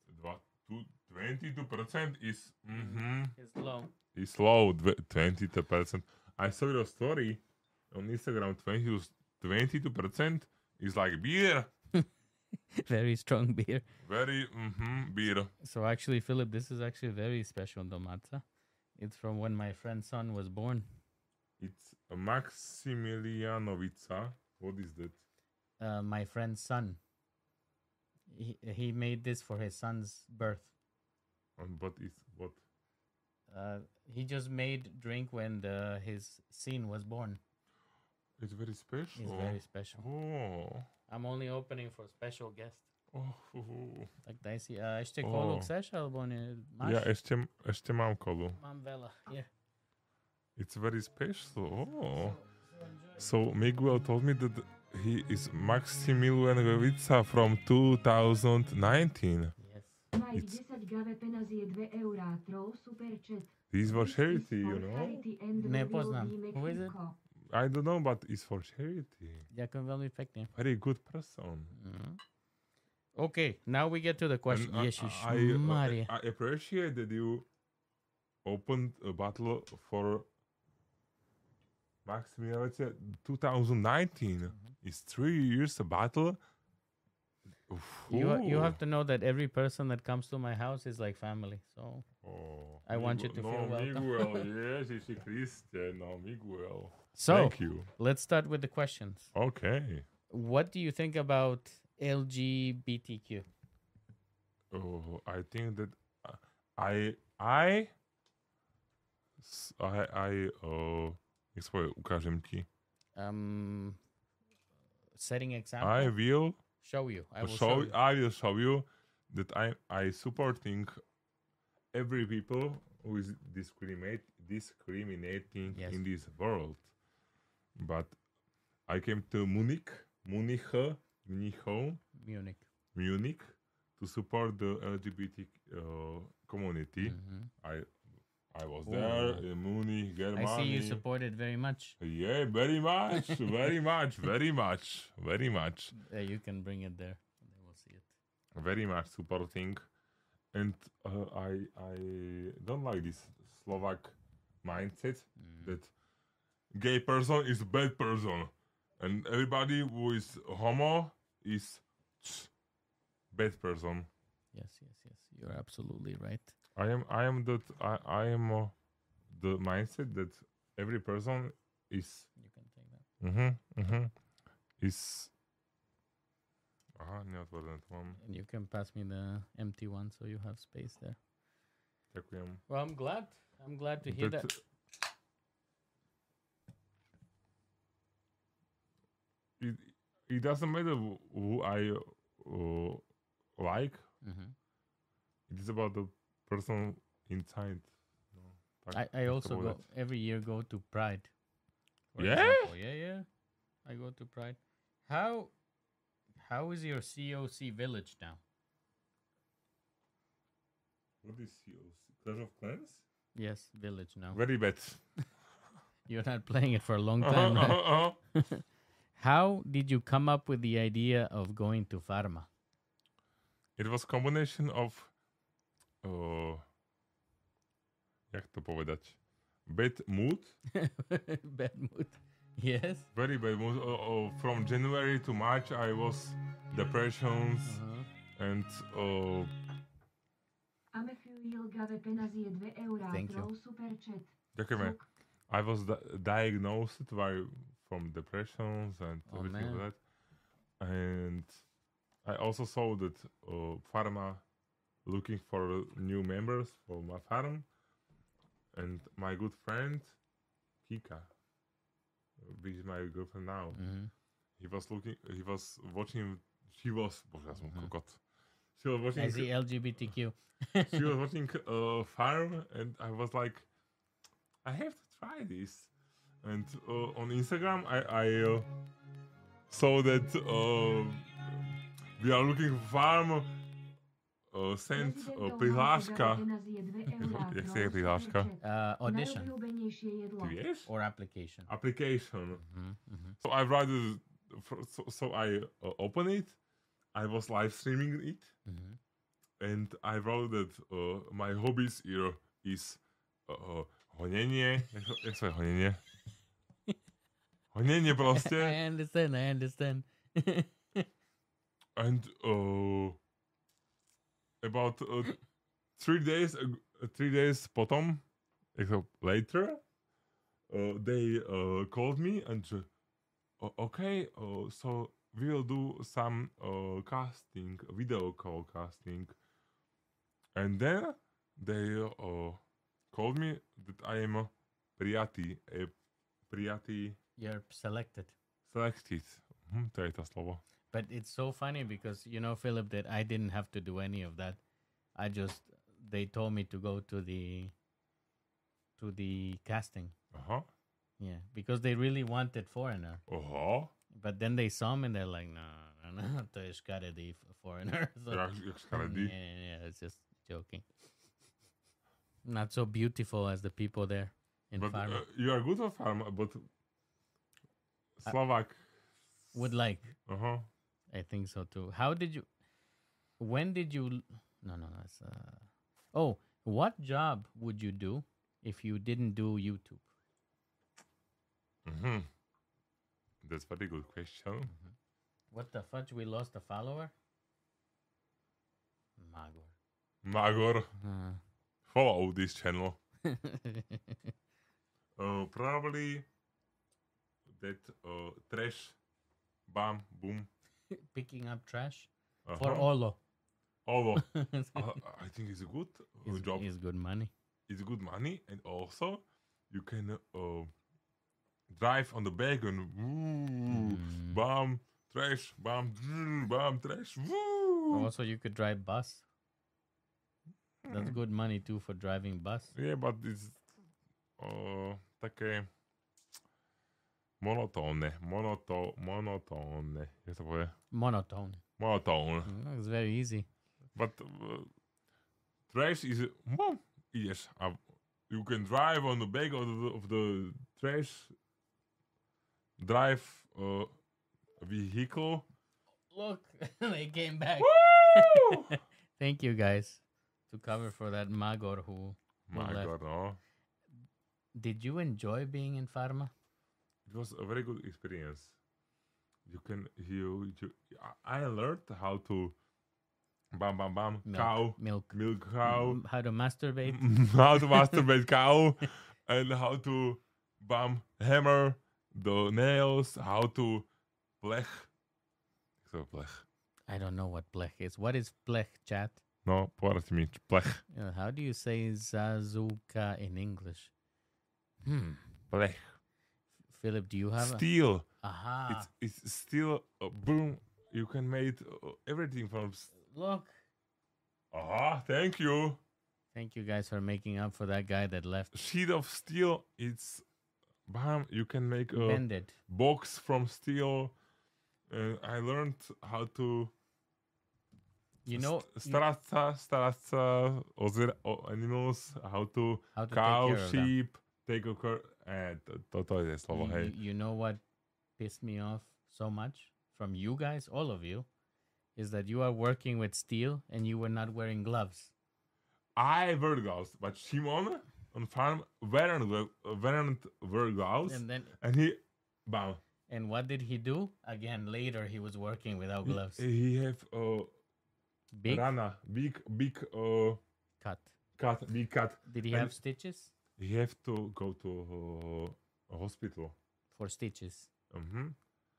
22% is It's low. is low. 22%. I saw your story on Instagram. 22% is like beer. Very strong beer. Very beer. So actually, Philip, this is actually very special domaca. It's from when my friend's son was born. It's a Maximilianovica. What is that? My friend's son. He made this for his son's birth. But it's what? He just made drink when his son was born. It's very special. It's very special. Oh. I'm only opening for special guests. Oh. Tak daj si. Ešte kolu chceš, alebo nie? Máš? Ja ešte mám kolu. Mám veľa. Here. It's very special. Oh. So Miguel told me that he is Maximilian Vevica from 2019. Yes. Mike It's- 10 gave penazie 2 eurá troll super chat. This is for This is charity, for you know? charity and Nepoznám. will be Who is it? Mexico. I don't know, but it's for charity. Ďakujem veľmi pekne. Very good person. Okay, now we get to the question. And Ježiš I Maria. appreciate that you opened a battle for Maximilian 2019. It's 3 years a battle. You have to know that every person that comes to my house is like family. So I want you to feel welcome. Miguel, Ježiši Kriste, no Miguel. So Thank you. let's start with the questions. Okay. What do you think about LGBTQ? Oh, I think that jak sa povie, ukážem ti. Setting example. I will show you. I will show. show you. I will show you that I supporting every people who is discriminating Yes. in this world. But I came to Munich, Munich. to support the LGBT community. Mhm. I was there in Munich, Germany. I see you support it very much. Yeah, very much, very much, very much, very much, You can bring it there. They will see it. very much supporting. And I don't like this Slovak mindset that gay person is a bad person, and everybody who is homo is bad person. Yes. You're absolutely right. I am the mindset that every person is You can take that. is aha, neotvorené to mám. And you can pass me the empty one so you have space there. Ďakujem. Well, I'm glad. I'm glad to hear that. It doesn't matter who I like. Mhm. It is about the person inside. No, I also go every year to Pride. for Yeah? example. Yeah. I go to Pride. How is your COC village now? What is yours? Clash of Clans? Yes, village now. Very bad. You're not playing it for a long time, right? How did you come up with the idea of going to Pharma? It was combination of jak to povedať? Bad mood. Bad mood. Yes. Very bad mood. From January to March I was depressions and Amefuil Gave Penazie 2 eurá Thank you. troll super chat. ďakujeme. I was diagnosed from depressions and Oh, everything man. like that. And I also saw that Pharma looking for new members for my farm. And my good friend Kika, which is my girlfriend now, he was watching, she was watching I see LGBTQ. she was watching farm, and I was like, I have to try this. And on Instagram I saw that we are looking for farm. Send prihláška. Jak sa je prihláška? Audition Najobľúbenejšie jedlo. Ty vieš? or application. Application. So I write it. So I open it. I was live streaming it, and I wrote that my hobbies here is honenie. Jak sa je honenie? Honenie proste. I understand. And about 3 days potom, later, they called me and okay, so we will do some casting, video call casting, and then they called me that I am prijatý. You're selected. Selected. To je to slovo. But it's so funny because Philip, that I didn't have to do any of that. They told me to go to the casting. Yeah, because they really wanted foreigner. But then they saw me and they're like, no, to je škaredý foreigner. So, Jak škaredý? yeah, it's just joking. Not so beautiful as the people there in But Pharma. you are good at Pharma, but Slovak. Would like. Uh-huh. I think so too. When did you, no, that's, what job would you do if you didn't do YouTube? That's very good question. What the fudge? We lost a follower? Magor, follow this channel. Probably that trash, bam, boom. Picking up trash for Olo. Although I think it's a good job. It's good money. It's good money, and also you can drive on the back and bam, trash, bam, bam, trash. Woo. Also, you could drive bus. That's good money too for driving bus. Yeah, but it's také monotónne. Jak sa povie? Monotone. Monotone. It's very easy. But trash is ideš a you can drive on the back of the trash, drive vehicle. Look, they came back. Woo! Thank you guys to cover for that Magor who My left. God, no. Did you enjoy being in Pharma? It was a very good experience. I learned how to bam, bam, bam, Milk. cow, Milk. milk cow, How to masturbate. how to masturbate cow, and how to hammer the nails, how to blech. So blech. I don't know what blech is. What is blech, chat? No, povedz mi, blech. How do you say zazuka in English? Blech. Philip, do you have Steel. Aha. It's steel. Boom. You can make everything from. Look. Aha, thank you. Thank you guys for making up for that guy that left. Sheet of steel. It's bam. You can make a Bend it. box from steel. I learned how to. You know Starať sa o animals, how to how to cow, take care of them. sheep, take a care. Toto je slovo, hej. You know what pissed me off so much from you guys, all of you, is that you are working with steel and you were not wearing gloves. I wear gloves, but Shimon on farm weren't wear gloves, and he, bam. And what did he do? Again, later he was working without gloves. He have Big rana, big cut. big cut. Did he And- have stitches? He have to go to a hospital. For stitches. Mhm.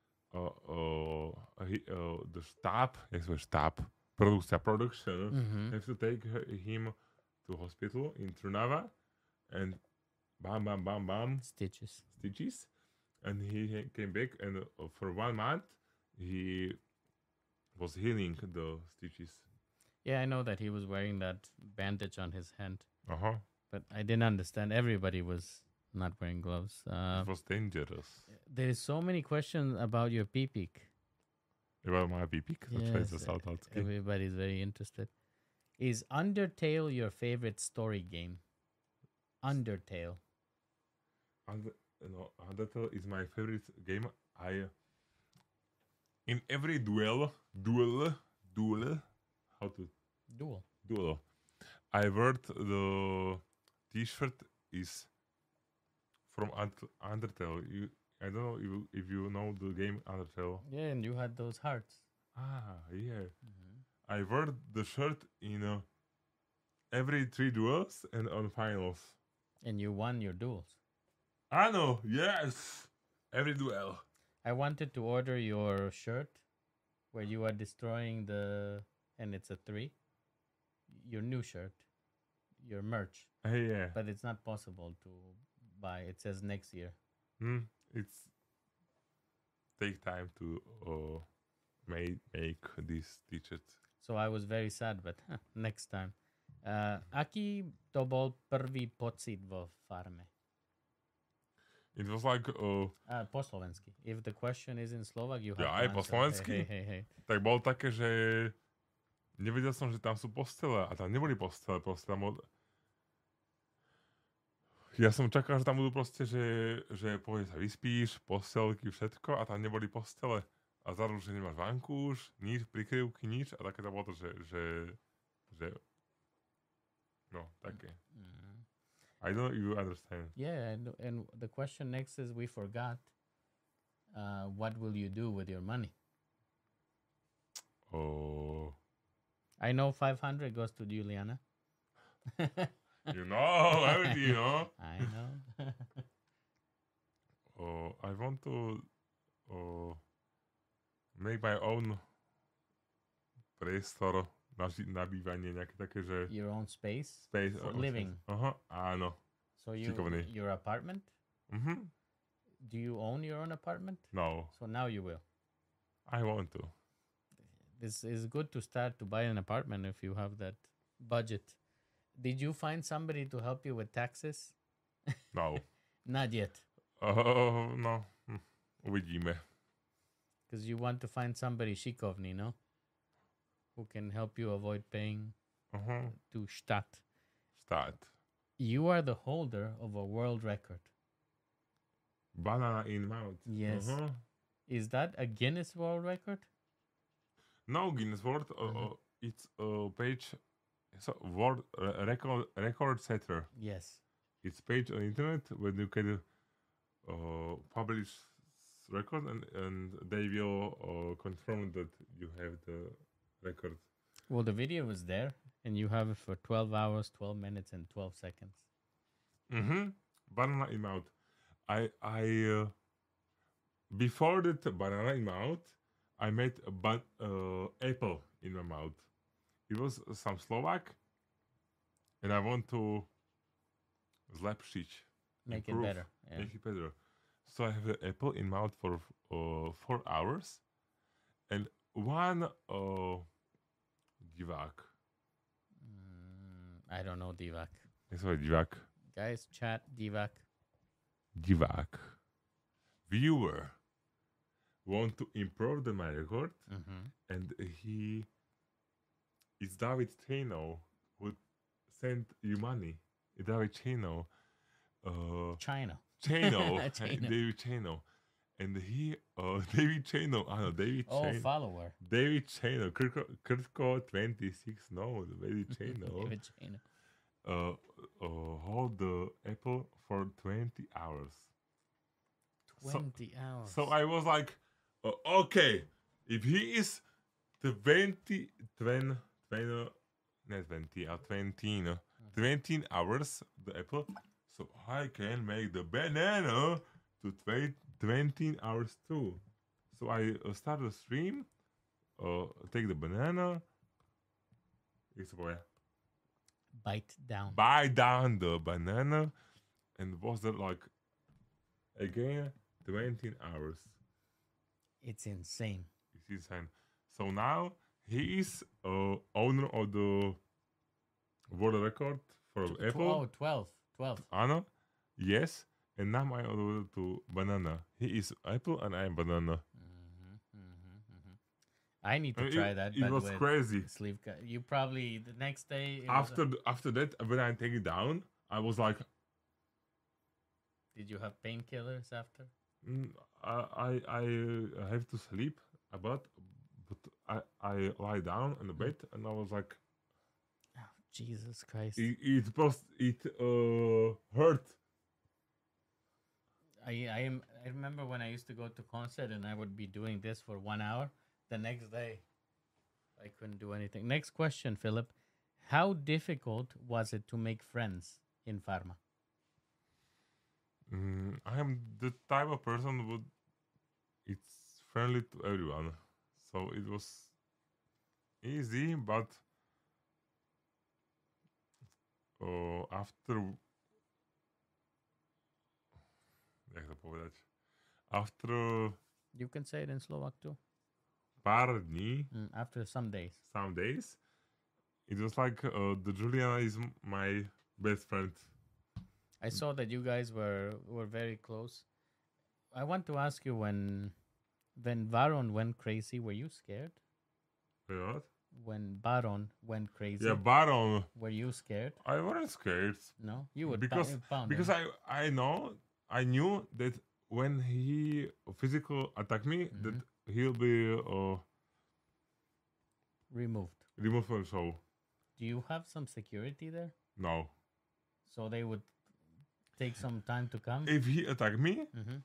The štáb, jak sa povie štáb, production, have to take him to hospital in Trnava, and bam, bam, bam, bam, Stitches. stitches, and he came back, and for 1 month he was healing the stitches. Yeah, I know that he was wearing that bandage on his hand, Uh-huh. but I didn't understand. Everybody was not wearing gloves. It was dangerous. There is so many questions about your pee-peek. About my pipík, Yes, sa saltácky. everybody's very interested. Is Undertale your favorite story game? Undertale. Undertale is my favorite game. In every duel, how to Duel. I heard the T-shirt is from Undertale. I don't know if you know the game Undertale. Yeah, and you had those hearts. Yeah. I heard the shirt in every 3 duels and on finals. And you won your duels. I know. Yes. Every duel. I wanted to order your shirt where you are destroying and it's a 3. Your new shirt. Your merch. Yeah. But it's not possible to buy. It says next year. It's take time to make this t-shirt. So I was very sad, but next time. Aký to bol prvý pocit vo farme? It was like Po slovensky. If the question is in Slovak, you have Ja, to aj po answer. slovensky? Hej. tak bolo také, že nevedel som, že tam sú postele a tam neboli postele, proste tam ja som čakal, že tam budú proste, že povie sa vyspíš, postelky, všetko a tam neboli postele. A zároveň, že nemáš vankúš, nič, prikryvky, nič a také to bolo to, že no, také. I don't know if you understand. Yeah, and the question next is we forgot. What will you do with your money? Oh, I know 500 goes to Juliana. you know everything, you know. I know. I want to make my own priestor na bývanie, nejaké také, že Your own space space for living. Aha, áno. So Šikovný. your apartment? Mhm. Do you own your own apartment? No, So now you will. I want to. This is good to start to buy an apartment if you have that budget. Did you find somebody to help you with taxes? No. Not yet. No. Uvidíme. Because you want to find somebody šikovný, no? Who can help you avoid paying to Stadt. Start. You are the holder of a world record. Banana in mouth. Yes. Is that a Guinness World Record? No, Guinness World. It's a page. It's a world record setter. Yes. It's page on internet where you can publish record and they will confirm that you have the record. Well, the video was there, and you have it for 12 hours, 12 minutes, and 12 seconds. Banana in mouth. I before that banana in mouth, I made a apple in my mouth. It was some Slovak, and I want to zlepšiť, Make it improve, better. Yeah. make it better. So I have an apple in mouth for 4 hours, and one divák. I don't know Divak. Jak sa hovorí divák? Guys, chat Divak. Divák. Viewer want to improve my record, and it's David Chano who sent you money. David Chano. China. Chano. Chano. David Chano. And he, David Chano, David Oh, Chano. follower. David Chano, Kirko 26, no, David Chano. David Chano. Hold the apple for 20 hours. 20 hours. So I was like, okay, if he is 20, 20 hours, the apple, so I can make the banana to 20 hours too. So I start the stream, take the banana, Bite down. bite down the banana, and was that like again 20 hours. It's insane. It's insane. So now he is owner of the world record for apple. Oh, 12. 12. Anna, yes, and now I order to banana. He is apple and I am banana. I need to try that. It but was with crazy. Slivka. You probably the next day. it was After that, when I take it down, I was like, did you have painkillers after? I have to sleep but I lie down on the bed and I was like, Oh, Jesus Christ! it hurt. I remember when I used to go to concert and I would be doing this for 1 hour. The next day, I couldn't do anything. Next question, Philip. How difficult was it to make friends in pharma? I am the type of person who it's friendly to everyone, so it was easy. But after, jak to povedať, after You can say it in Slovak too. pár dní, After some days. some days, it was like the Juliana is my best friend. I saw that you guys were very close. I want to ask you when Baron went crazy, were you scared? Wait, what? When Baron went crazy, Yeah, Baron. were you scared? I wasn't scared No, you would because pound because him. I knew that when he physical attack me that he'll be Removed. removed from the show. Do you have some security there? No, So they would take some time to come? if he attack me, Mm-hmm.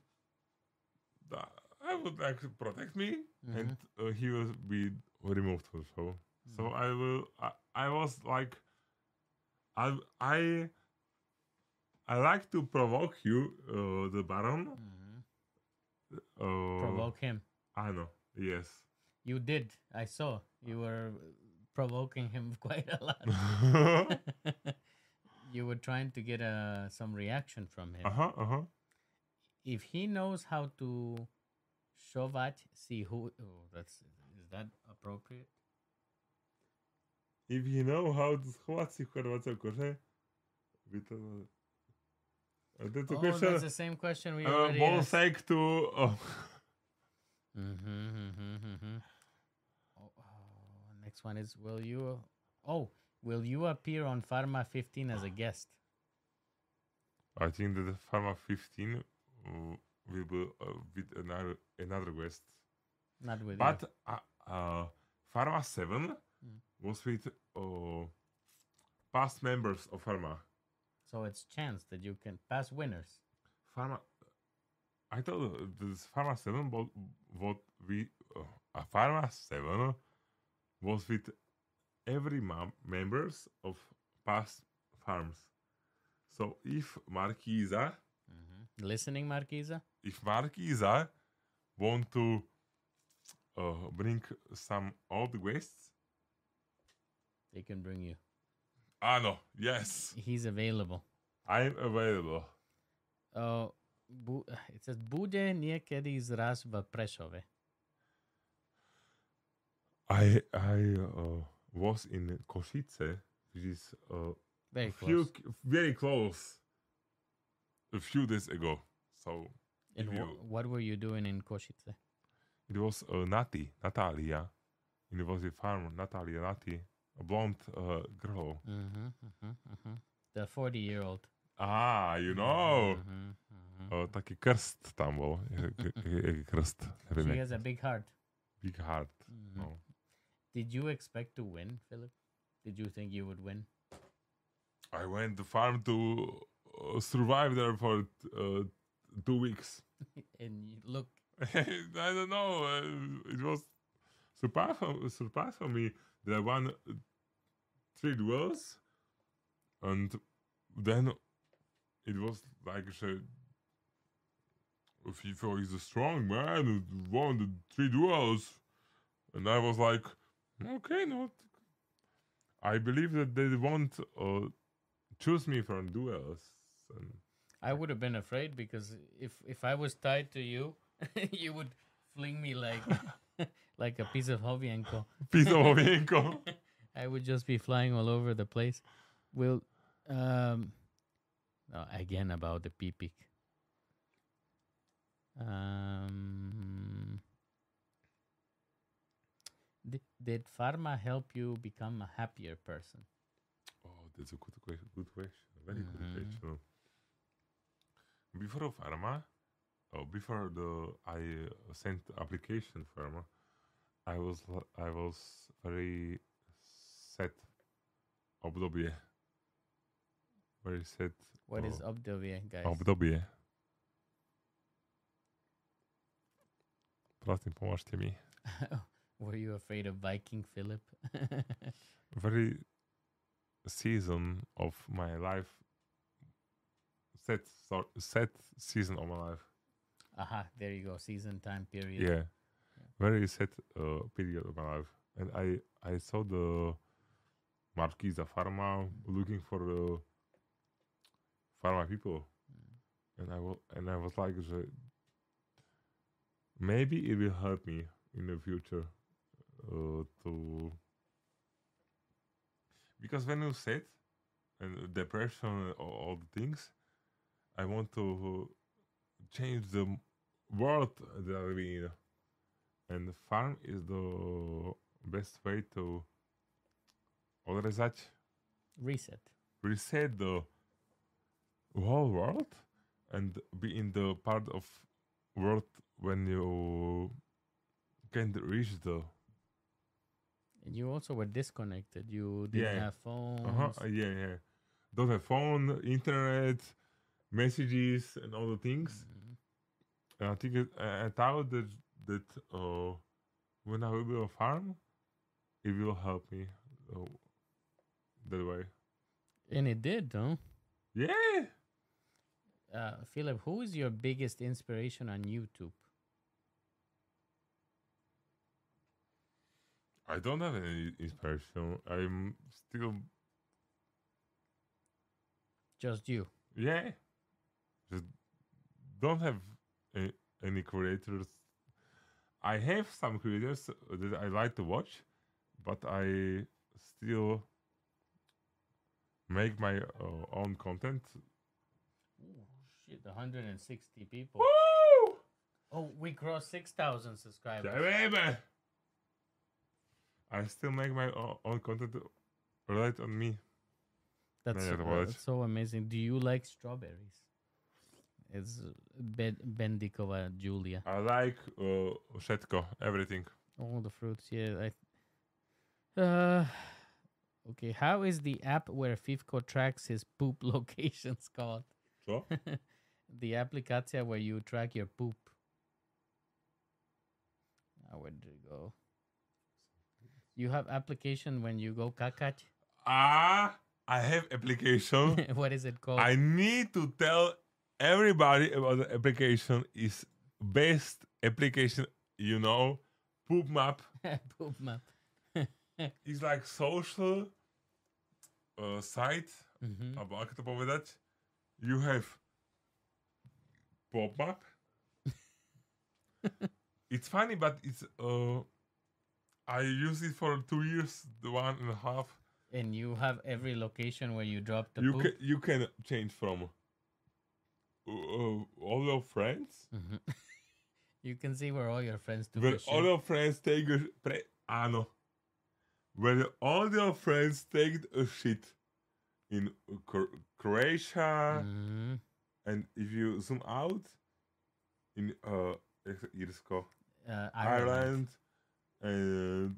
I would like protect me and he will be removed from the show. So I will. I was like, I like to provoke you, the Baron. Provoke him. I know. Yes. You did. I saw. You were provoking him quite a lot. You were trying to get some reaction from him. If he knows how to šovať si who, is that appropriate? If you know how to schovať si chorvátskeho kože, by to... Tento Oh, question, that's the same question we already bol asked. sake to... Next one is, will you appear on Pharma 15 as a guest? I think that the Pharma 15 will be with another guest. Not with But you. Pharma 7 was with past members of Pharma. So it's chance that you can pass winners. Pharma... I thought this Pharma 7 what we... Pharma 7 was with every members of past farms. So if Marquisa Listening, Marquisa? if Marquisa want to bring some old guests, They can bring you. no, yes, He's available. I'm available. Oh, it says, bude niekedy zraz v Prešove. I was in Košice, which is Very close. very close a few days ago. So And if you- what were you doing in Košice? it was Natalia, University Farm, Natalia Nati, a blonde girl. The 40-year-old. You know. Mhm. Taký krst tam bol. Krst. Neviem, She jak- has a big heart. Big heart. Mhm. No. Did you expect to win, Philip? Did you think you would win? I went to farm to survive there for 2 weeks. And look, I don't know. It was surprise for me that I won 3 duels, and then it was like FIFA is a strong man who won the 3 duels, and I was like, okay, no. I believe that they won't choose me for duels. And I would have been afraid because if I was tied to you, you would fling me like like a piece of Hovienko. piece of Ovienko. I would just be flying all over the place. Will no, again about the PPIC. Did pharma help you become a happier person? Oh, that's a good question. Good question. Very good Mhm. question. Before pharma, before I sent application pharma, I was very sad. Obdobie. Very sad. What is obdobie, guys? Obdobie. Prosím, pomôžte mi. Were you afraid of Viking Philip? Very season of my life. Sad season of my life. Aha, there you go. Season time period. Yeah. Very sad period of my life. And I saw the Marquisa Pharma looking for pharma people. And I was like, maybe it will help me in the future to, because when you said and depression, all the things, I want to change the world that I live in, and the farm is the best way to reset the whole world and be in the part of world when you can't reach the And you also were disconnected. You didn't Yeah. have phones. yeah. Don't have phone, internet, messages, and all the things. Mhm. And I think I thought that when I will be a farm, it will help me that way. And it did, though. Yeah. Philip, who is your biggest inspiration on YouTube? I don't have any inspiration. I'm still Just you. yeah. Just don't have any creators. I have some creators that I like to watch, but I still make my own content. Ooh, shit, 160 people. Woo! Oh, we crossed 6,000 subscribers. Yeah, baby. I still make my own content relate on me. That's, Yeah, well, that's so amazing. Do you like strawberries? It's Bendikova Julia. I like všetko, everything. All the fruits, yeah. Okay, how is the app where Fivko tracks his poop locations called? So? The applicacja where you track your poop. Where did it go? You have application when you go kakać? I have application. What is it called? I need to tell everybody about the application. Is best application, Poop Map. Poop map. Is like social site. Mhm. Alebo ako to povedať? You have Pop Map. It's funny, but it's I use it for 2 years, 1.5. And you have every location where you drop the poop. You can change from all your friends. Mhm. You can see where all your friends do Where the all shit. your friends take áno. Where all your friends take a shit in Croatia, Mhm. and if you zoom out in Irsko, Ireland. Ireland, and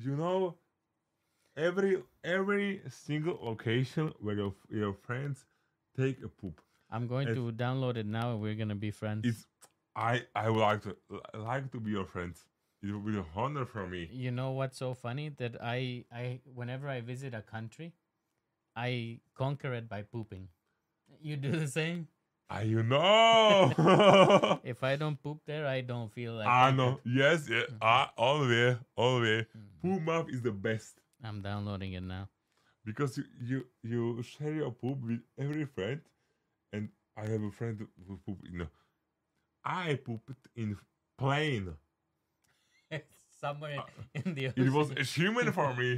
every single location where your friends take a poop. I'm going It's- to download it now and we're going to be friends. It's I would like to be your friend. It would be an honor for me. You know what's so funny? That I whenever I visit a country, I conquer it by pooping. You do the same? You know. If I don't poop there, I don't feel like I conquered. know. Yes. Yeah. Always. Mhm. Poop map is the best I'm downloading it now. because you share your poop with every friend, and I have a friend who poop. I pooped in plane. Somewhere in the ocean. It was achievement for me.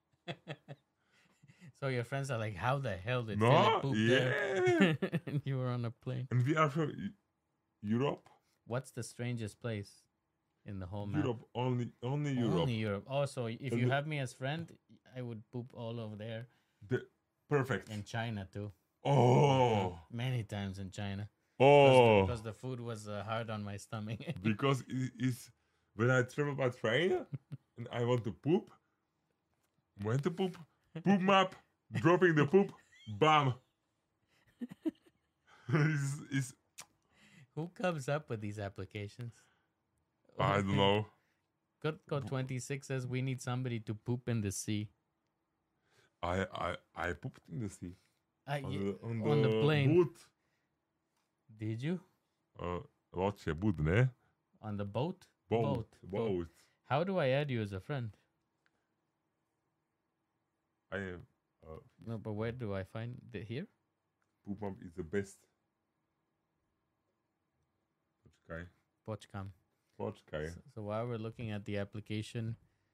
So your friends are like, how the hell did No, Philip poop there? And you were on a plane. And we are from Europe. What's the strangest place in the whole map? Europe only Europe. Only Europe. Also, if And you the- have me as friend, I would poop all over there. Perfect. In China too. Oh. Many times in China. Oh. Because the food was hard on my stomach. Because it's when I travel by train and I want to poop. When to poop map, dropping the poop, bam. It's Who comes up with these applications? I don't know. Code 26 says we need somebody to poop in the sea. I pooped in the sea On the plane. boot. Did you? Loče boot, ne? On the boat? Boat. How do I add you as a friend? I am No, but where do I find it here? poop map is the best. Počkam. Počkaj. So while we're looking at the application,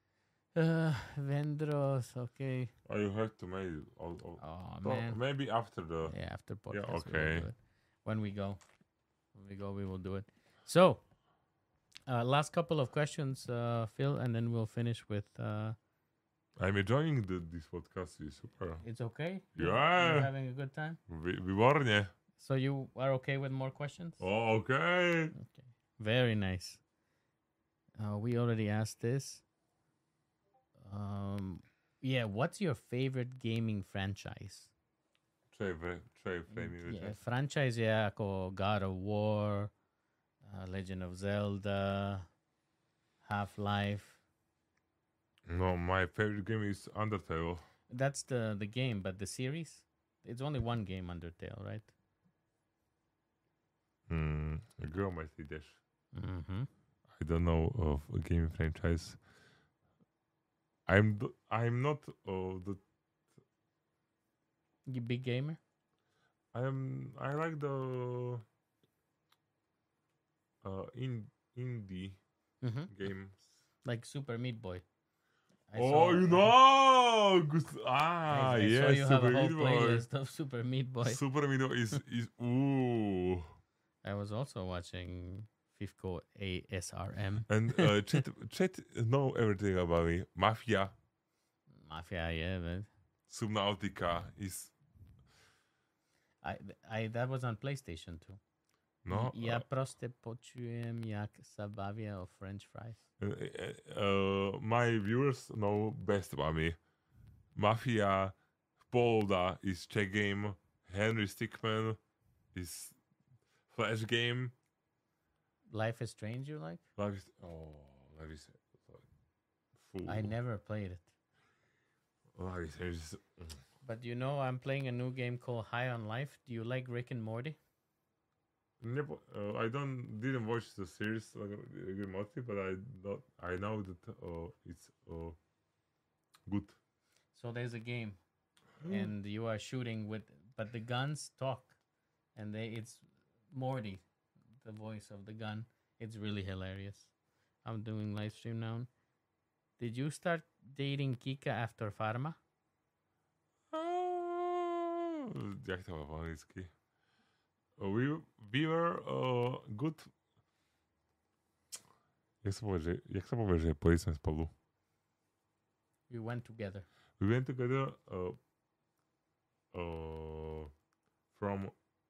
Vendros, okay. You have to make it. Oh So man. maybe after the. Yeah, after podcast. Yeah, we will okay. do it. When we go, we will do it. So, last couple of questions, Phil, and then we'll finish with. I'm enjoying this podcast. It's super. It's okay. Yeah. You're having a good time. Výborne. So you are okay with more questions? Oh, okay. Okay. Very nice. We already asked this. Yeah. What's your favorite gaming franchise? Čo je framing Yeah, franchise je ako God of War, Legend of Zelda, Half-Life. No, my favorite game is Undertale. That's the game, but the series? It's only one game, Undertale, right? Girl might say this. Mm-hmm. I don't know of a game franchise. I'm not the You big gamer? I like the indie Mm-hmm. games. Like Super Meat Boy. I Oh, saw- you know! I Yes, saw you have a Super whole Meat Boy. playlist of Super Meat Boy. Super Meat Boy is ooh. I was also watching Fifco ASRM. And chat know everything about me. Mafia, Mafia, yeah, but Subnautica is I that was on PlayStation too. no. Ja proste počujem, jak sa bavia o French fries. My viewers know best about me. Mafia, Polda is Czech game. Henry Stickman is Flash game. Life is Strange, you like? Life is I never played it. Like, But you know, I'm playing a new game called High on Life. Do you like Rick and Morty? I didn't watch the series like Rick and Morty, but I know that it's good. So there's a game, and you are shooting with, but the guns talk, and it's Morty, the voice of the gun. It's really hilarious. I'm doing live stream now. Did you start dating Kika after Pharma? Jak to má po anglicky? We were good. Jak sa povie, že pojeli sme spolu? We went together. We went together from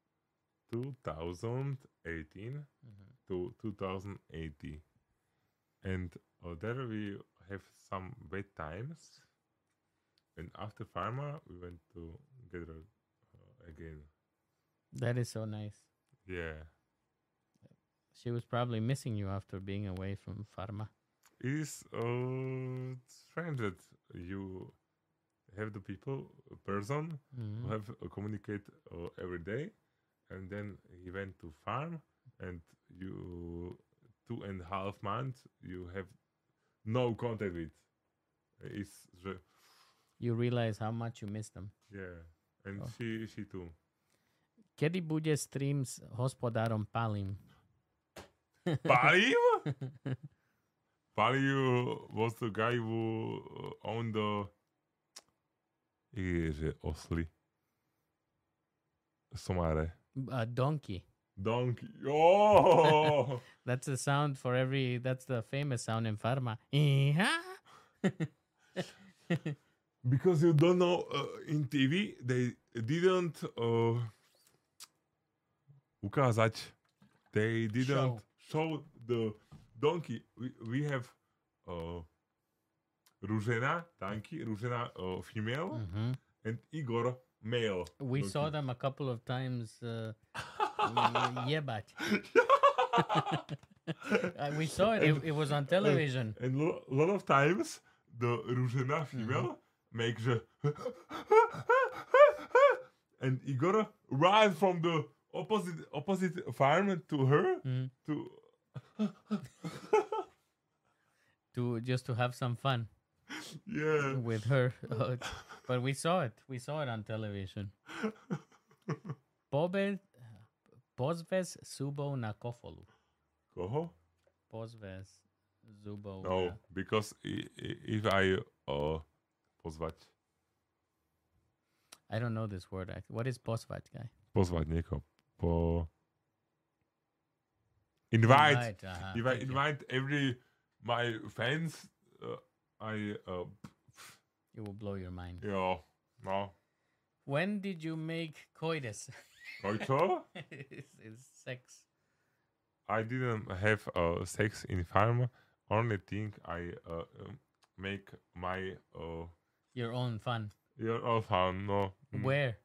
2018 to 2080, and there we have some bad times. And after Pharma, we went together again. That is so nice. Yeah. She was probably missing you after being away from Pharma. It is strange that you have the person who have communicate every day, and then he went to farm, and you 2.5 months you have no contact with. It's You realize how much you miss them. yeah, and Oh. she too. Kedy bude stream s hospodárom Palim? Paliv? Paliv was the guy who owned the osly. Somare. Donkey. Donkey. Oh! That's the sound for every. That's the famous sound in Pharma. Because you don't know, in TV they didn't ukázať. They didn't show the donkey. We have Rúžena, donkey, Rúžena female, and Igor male. We donkey. saw them a couple of times. Jebať. We saw it. It was on television. And a lot of times the Rúžena female makes a and Igor ran from the opposite farm to her To just to have some fun yeah. with her. But we saw it. We saw it on television. Pozves Subo na kofolu. Koho? Pozves Zubo. No, because if I pozvať. I don't know this word. What is pozvať, guy? Pozvať niekoho. Invite. Aha, If I thank you. invite every my fans, I It will blow your mind. yeah, no. When did you make coitus? Koľko? It's sex. I didn't have sex in farm. Only thing I make my Your own fun. your own farm. No. Where?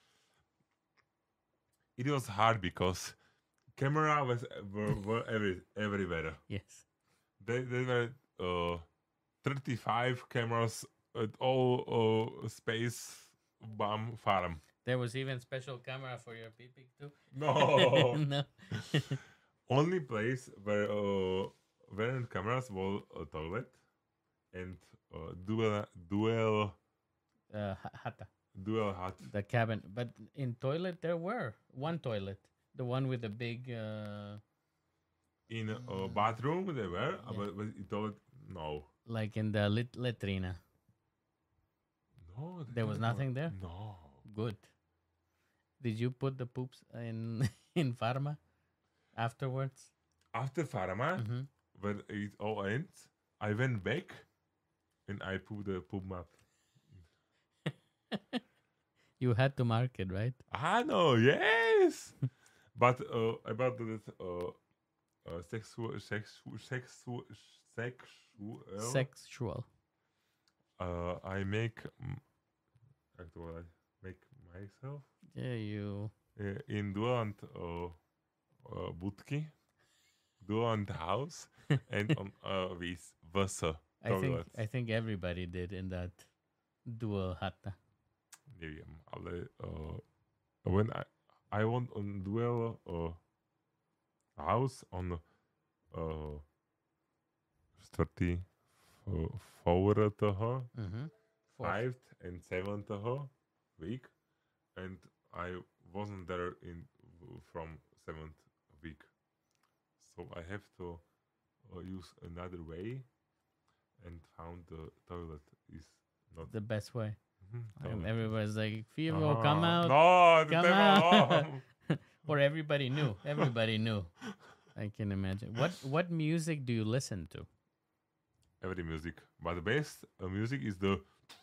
It was hard because camera were everywhere. Yes. There were 35 cameras at all space bomb farm. There was even special camera for your pee too. No. No. Only place where weren't cameras was a toilet and dual Hata. hut. The cabin. But in toilet there were one toilet. The one with the big In a bathroom they were, but in toilet no. like in the latrina. No. There was nothing there? No. Good. Did you put the poops in in Pharma afterwards? After Pharma, Mhm. when it all ends, I went back and I put the poop map. You had to mark it, right? No, yes. But about the sexual, Sexual. I make actually make myself Yeah, you. in Duant budky, Duant house, and on with Vasa. toilets. I think everybody did in that dual hata. Neviem, ale when I went on duel house on 34 toho, Mm-hmm. 5th and 7th toho week, and I wasn't there from 7th week, so I have to use another way, and found the toilet is not The best way. Mhm, And toilet. everybody's like, Fivo, come out. No, Come come out. out. Or everybody knew. Everybody knew. I can imagine. What music do you listen to? Every music, but the best music is the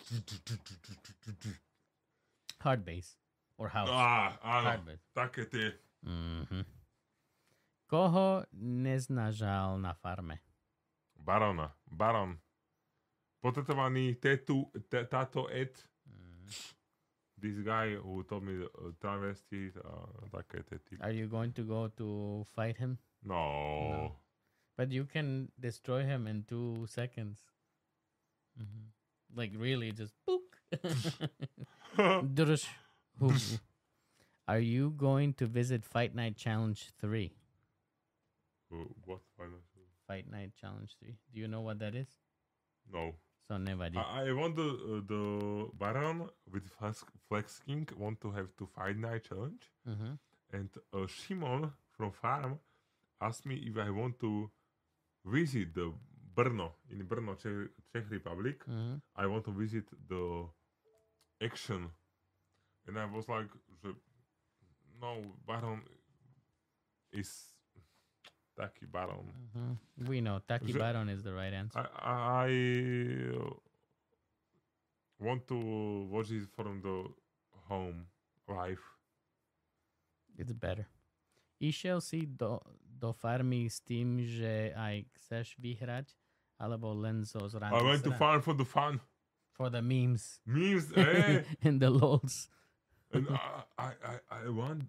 Hard bass or house? áno, Hard bass. také tie. Mm-hmm. Koho neznažal na farme? Baron. Potetovaný táto Ed. This guy who told me travesty, také tie. Are you going to go to fight him? No. But you can destroy him in 2 seconds. Mhm. Like really, just book. Drush. Are you going to visit Fight Night Challenge 3? What financial? Fight Night Challenge 3. Do you know what that is? No. So never did. I want the Baron with Flex King want to have to fight night challenge, Mm-hmm. and Shimon from farm asked me if I want to visit the Brno in Brno, Czech Republic. Mm-hmm. I want to visit the action, and I was like, no, Baron is Taki Baron. Mm-hmm. We know Taki The- Baron is the right answer. I want to watch it from the home live. It's better. Išiel si do farmy s tým, že aj chceš vyhrať, alebo len zo zrandy I went to farm for the fun. For the memes Memes, eh? and the lols. And I want.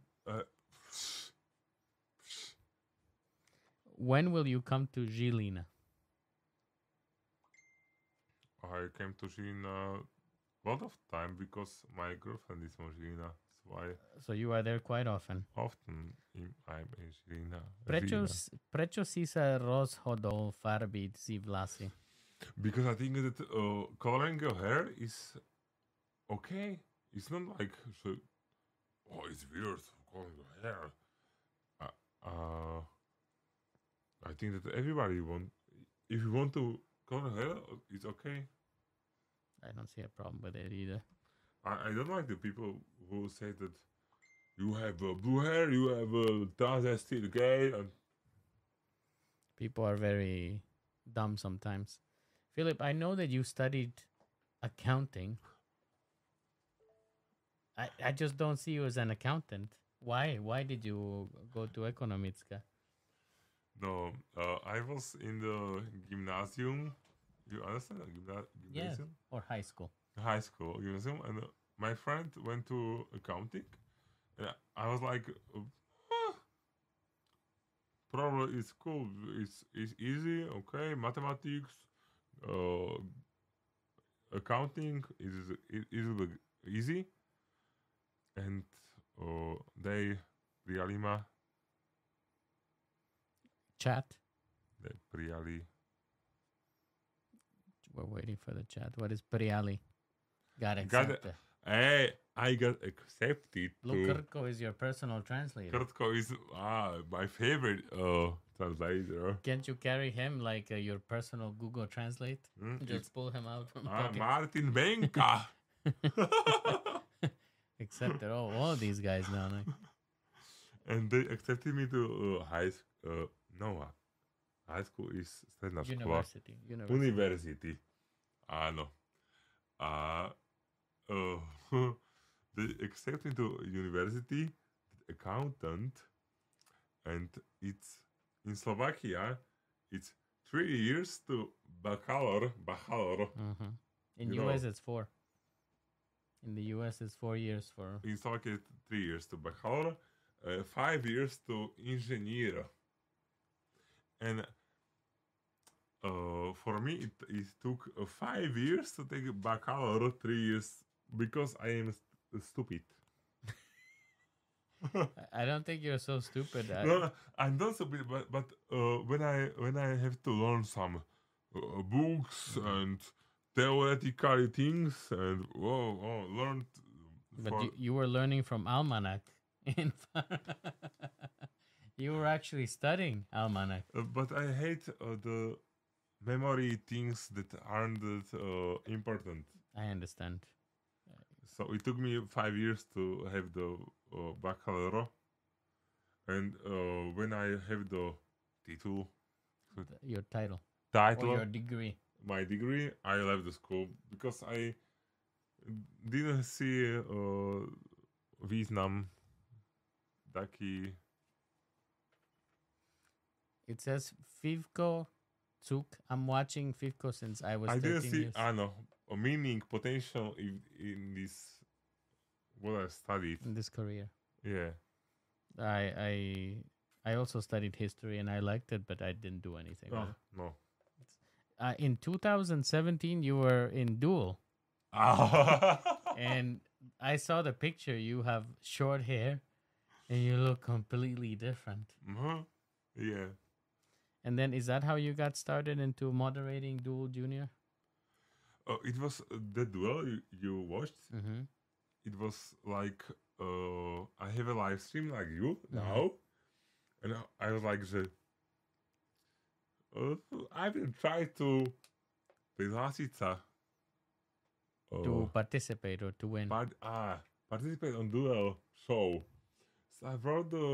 When will you come to Žilina? I came to Žilina a lot of time because my girlfriend is from Žilina. That's why So you are there quite often. often I'm in Žilina. Prečo si sa rozhodol farbiť si vlasy? Because I think that coloring your hair is okay. It's not like it's weird coloring your hair. I think that everybody if you want to color hair, it's okay. I don't see a problem with it either. I don't like the people who say that you have blue hair, you have transvestite gay, and People are very dumb sometimes. Philip, I know that you studied accounting. I just don't see you as an accountant. Why? Why did you go to Ekonomická? no, I was in the gymnasium. You understand? Gymnasium? Or high school. High school gymnasium, and my friend went to accounting, and I was like, probably it's cool. It's easy, okay. Mathematics, accounting is easy, and they prijali ma. Chat. They prijali. We're waiting for the chat. What is Priali? Got Got it. accepted. Hey, I got accepted Look, to. Kurtko is your personal translator. Kurtko is my favorite translator. Can't you carry him like your personal Google Translate? Mm, Just pull him out from Ah, pocket. Martin Benka. Accepted. Oh, all these guys now. Like, And they accepted me to high school. No, high school is stredná škola. University. University. Áno. They accepted me to university, accountant, and it's in Slovakia. It's 3 years to bachelor. Mm-hmm. In You US, know. it's 4. In the US, it's 4 years for. In Slovakia, 3 years to bachelor, 5 years to inženier. And for me, it took 5 years to take a baccalaureate, 3 years, because I am stupid. I don't think you're so stupid. No, I'm not stupid, but when I have to learn some books and theoretical things and learn But for you were learning from Almanac. You were actually studying Almanac. but I hate the memory things that aren't that important. I understand. So it took me 5 years to have the baccalaureate, and when I have the title, Your title or title, your degree. my degree, I left the school because I didn't see význam taký. It says Fivko Cuk. I'm watching Fivko since I was I 13 didn't see years a meaning, potential in this what I studied. in this career. Yeah. I also studied history and I liked it, but I didn't do anything. with Oh, it. no. In 2017, you were in Duel, and I saw the picture. You have short hair, and you look completely different. Mhm. Yeah. And then, is that how you got started into moderating Duel Junior? It was the duel you watched. Mm-hmm. It was like I have a live stream like you Mhm. now, and I was like I will try to prihlásiť sa. To participate or to win. Participate on duel show. So I wrote the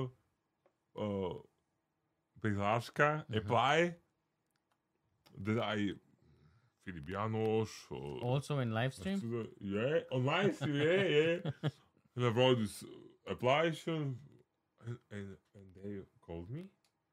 prihláška, apply. That I Filip Janoš. Also in live stream? Yeah, on live stream, yeah. And I wrote this application, and they called me.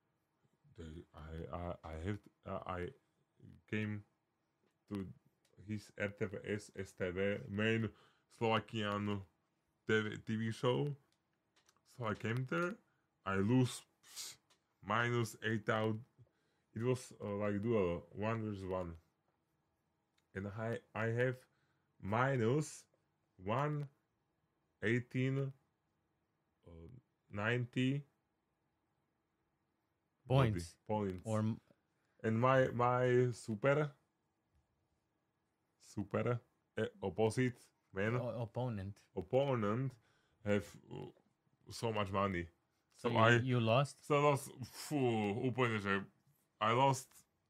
I came to his RTVS STV main Slovakian TV show. So I came there. I lose -8,000. It was like duel 1 versus 1, and I have -118 90 Points. points. Or And my super opposite man opponent. opponent have so much money. So So you lost? So lost, úplne, že I lost.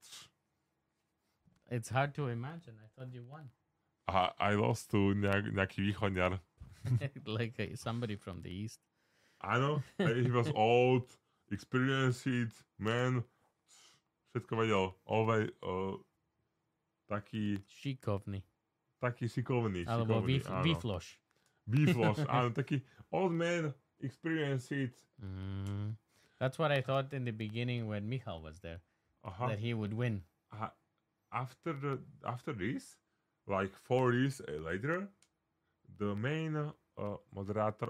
It's hard to imagine. I thought you won. I lost to nejaký východňar. Like somebody from the east. Áno, he was old, experienced man, všetko vedel. Always taký Šikovný. šikovný. Alebo áno. výfloš. Výfloš, áno, taký old man, experienced. That's what I thought in the beginning when Michal was there, that he would win. After this, like 4 years later, the main moderator,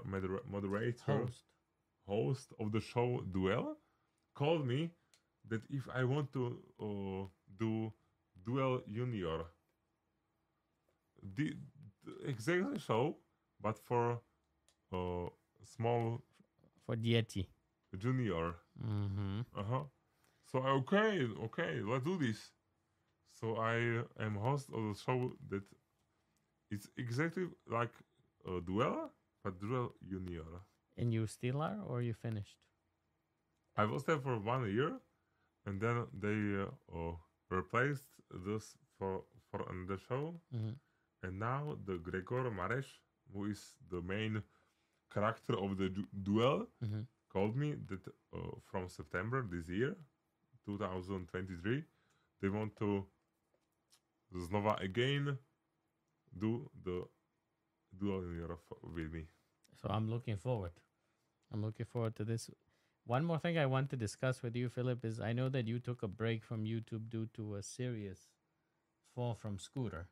host of the show Duel, called me that if I want to do Duel Junior, the exact show, but for small For Dieti. junior. Mm-hmm. So okay, let's do this. So I am host of the show that it's exactly like a Duel, but Duel Junior. And you still are, or you finished? I was there for 1 year, and then they replaced this for another show. Mm-hmm. And now the Gregor Mares, who is the main character of the Duel, Mm-hmm. called me that from September this year, 2023, they want to znova again do the Duel Junior with me. So I'm looking forward. I'm looking forward to this. One more thing I want to discuss with you, Philip, is I know that you took a break from YouTube due to a serious fall from scooter.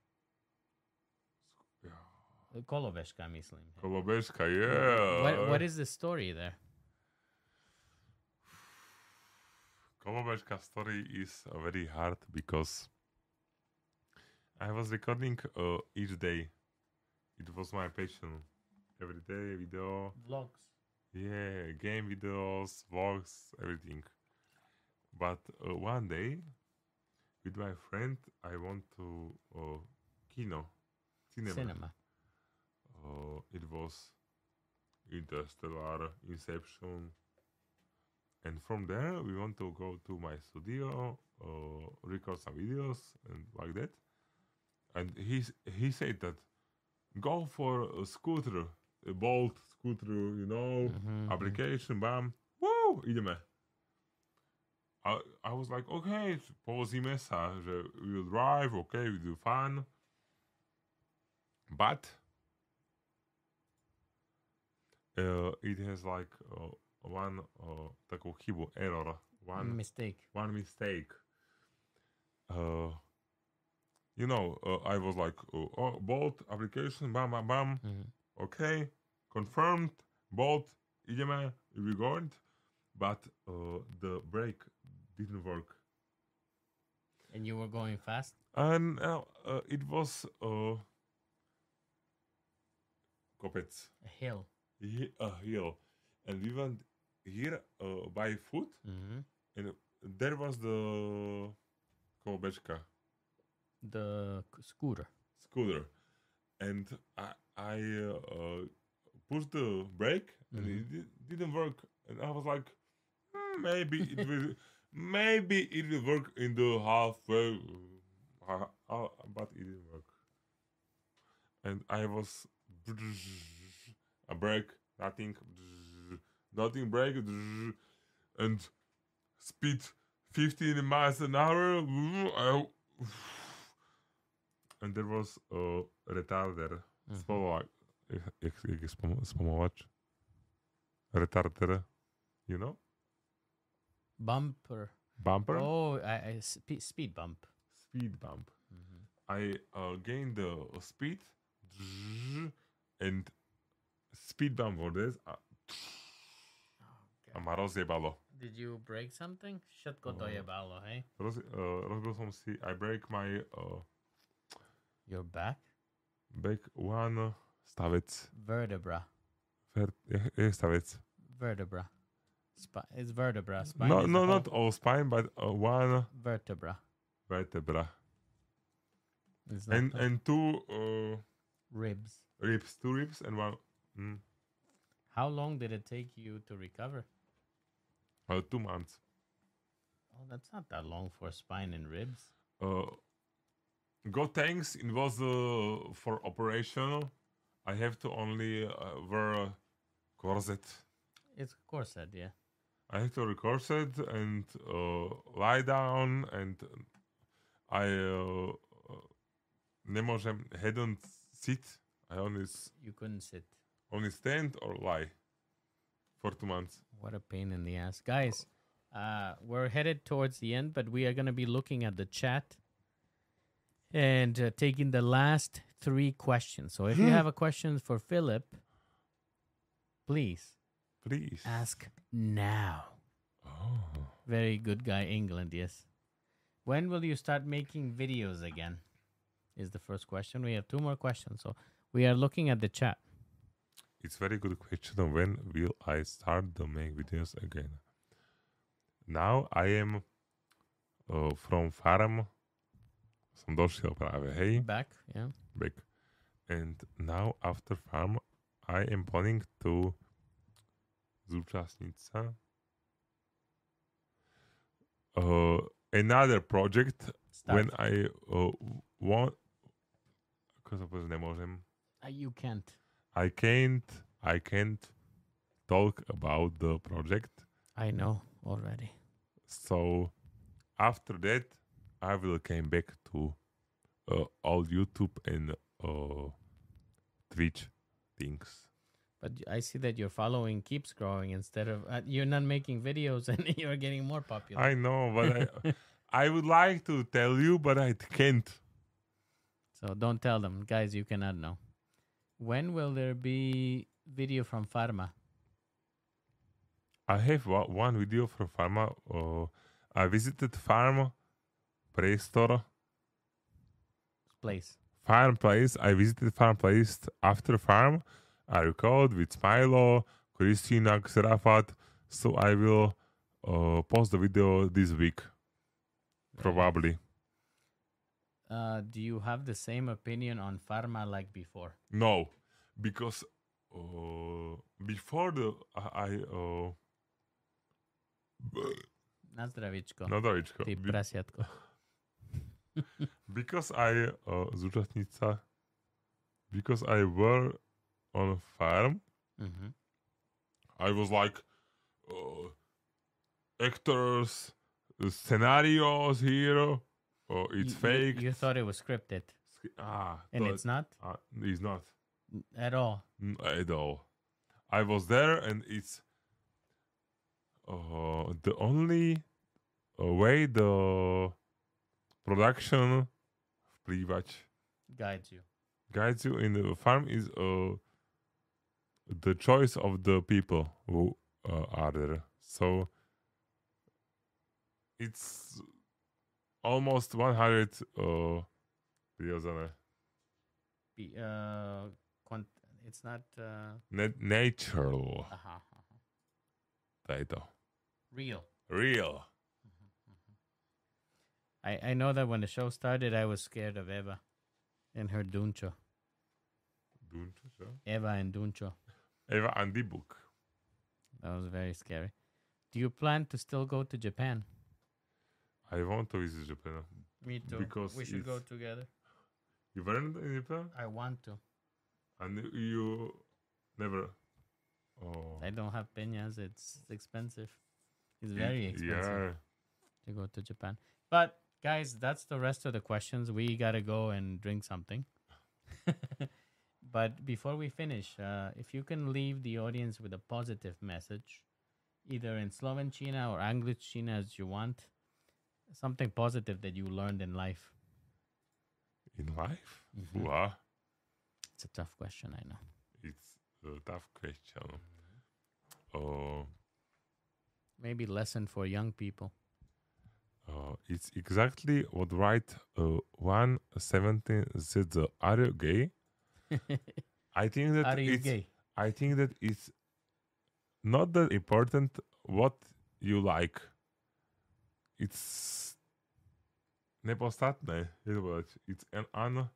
Kolobežka, myslím. Kolobežka, yeah. What is the story there? Kolobežka story is very hard because I was recording each day. It was my passion. Every day, video, Vlogs. yeah, game videos, vlogs, everything. But one day, with my friend, I went to cinema. Cinema. It was Interstellar, Inception, and from there we want to go to my studio, record some videos and like that. And he said that go for a scooter, a Bolt scooter, application, bam, woo, ideme. I was like, okay, povozíme sa, že we will drive, okay, we do fun. But it has like one takú chybu, error, one Mistake. mistake. I was like, Bolt application, bam, bam, bam. Mhm. Okay, confirmed, Bolt, ideme, we going. But the brake didn't work. And you were going fast? And it was kopec, A hill. a hill. And we went here by foot, Mm-hmm. and there was the kolobečka The scooter. scooter. And I pushed the brake, and it didn't work. And I was like, maybe it will, maybe it will work in the halfway, but it didn't work. And I was a brake, nothing, brake, and speed 15 miles an hour. And there was a retarder, spomalovač, jak je spomalovač? Retarder, you know? Bumper. Bumper? Oh, speed bump. Speed bump. Mhm. I gained the speed, and speed bump for this. A ma rozjebalo. Did you break something? Všetko to jebalo, hej? Rozbil som si, I break my Your back? back one stavec. Vertebra. Je stavec. Vertebra. It's vertebra. Spine No, is no, the not whole all spine, but one vertebra. vertebra. It's not And two ribs. ribs, two ribs and one. How long did it take you to recover? 2 months. Oh, that's not that long for spine and ribs. God thanks, it was for operation. I have to only wear a corset. It's corset, yeah. I have to wear a corset and lie down, and I nemôžem head on sit. I You couldn't sit. only stand or lie for 2 months. What a pain in the ass. Guys, we're headed towards the end, but we are going to be looking at the chat and taking the last 3 questions. So if you have a question for Philip, please Please. ask now. Oh. Very good guy, England, yes. When will you start making videos again? Is the first question. We have 2 more questions. So we are looking at the chat. It's very good question. When will I start to make videos again? Now I am from farm. Som došiel práve, hej, Back, yeah. back. And now after farm, I am planning to zúčastniť sa another project Start. when I want. Ako sa povedať, nemôžem. You can't. I can't talk about the project. I know already. So after that, I will came back to all YouTube and Twitch things. But I see that your following keeps growing instead of you're not making videos and you're getting more popular. I know, but I would like to tell you, but I can't. So don't tell them, guys. You cannot know. When will there be video from Pharma? I have one video from Pharma. I visited farm store. Place. Farm place. I visited farm place after farm. I recorded with Smilo, Christina, Xerafat. So I will post the video this week. Very Probably. Do you have the same opinion on pharma like before? No. Because before the Na zdravičko. no Davičko. Ty prasiatko. Because I zúčastnica, because I were on farm, Mhm. I was like actors, scenarios here. It's fake. You thought it was scripted, and it's not It's not at all. at all. I was there, and it's the only way the production vplývať guides you in the farm is the choice of the people who are there. So it's almost 100 prirodzené. It's not Natural. aha. To je to. Real. Real. I know that when the show started, I was scared of Eva and her Duncho. Dunčo, čo? Eva and Duncho. Eva and the book. That was very scary. Do you plan to still go to Japan? I want to visit Japan. Me too. Because we should go it's- together. You weren't in Japan? I want to. And you never... Oh. I don't have peñas. It's expensive. It's very expensive Yeah. to go to Japan. But guys, that's the rest of the questions. We gotta go and drink something. But before we finish, if you can leave the audience with a positive message, either in Slovenčina or Angličina as you want, something positive that you learned in life. In life? Mhm. Wow. It's a tough question, I know. It's a tough question. Oh, Maybe lesson for young people. it's exactly what right 117 said. Are you gay? I think that Are you it's gay? I think that it's not that important what you like. It's nepodstatné. Je to povedať. It's an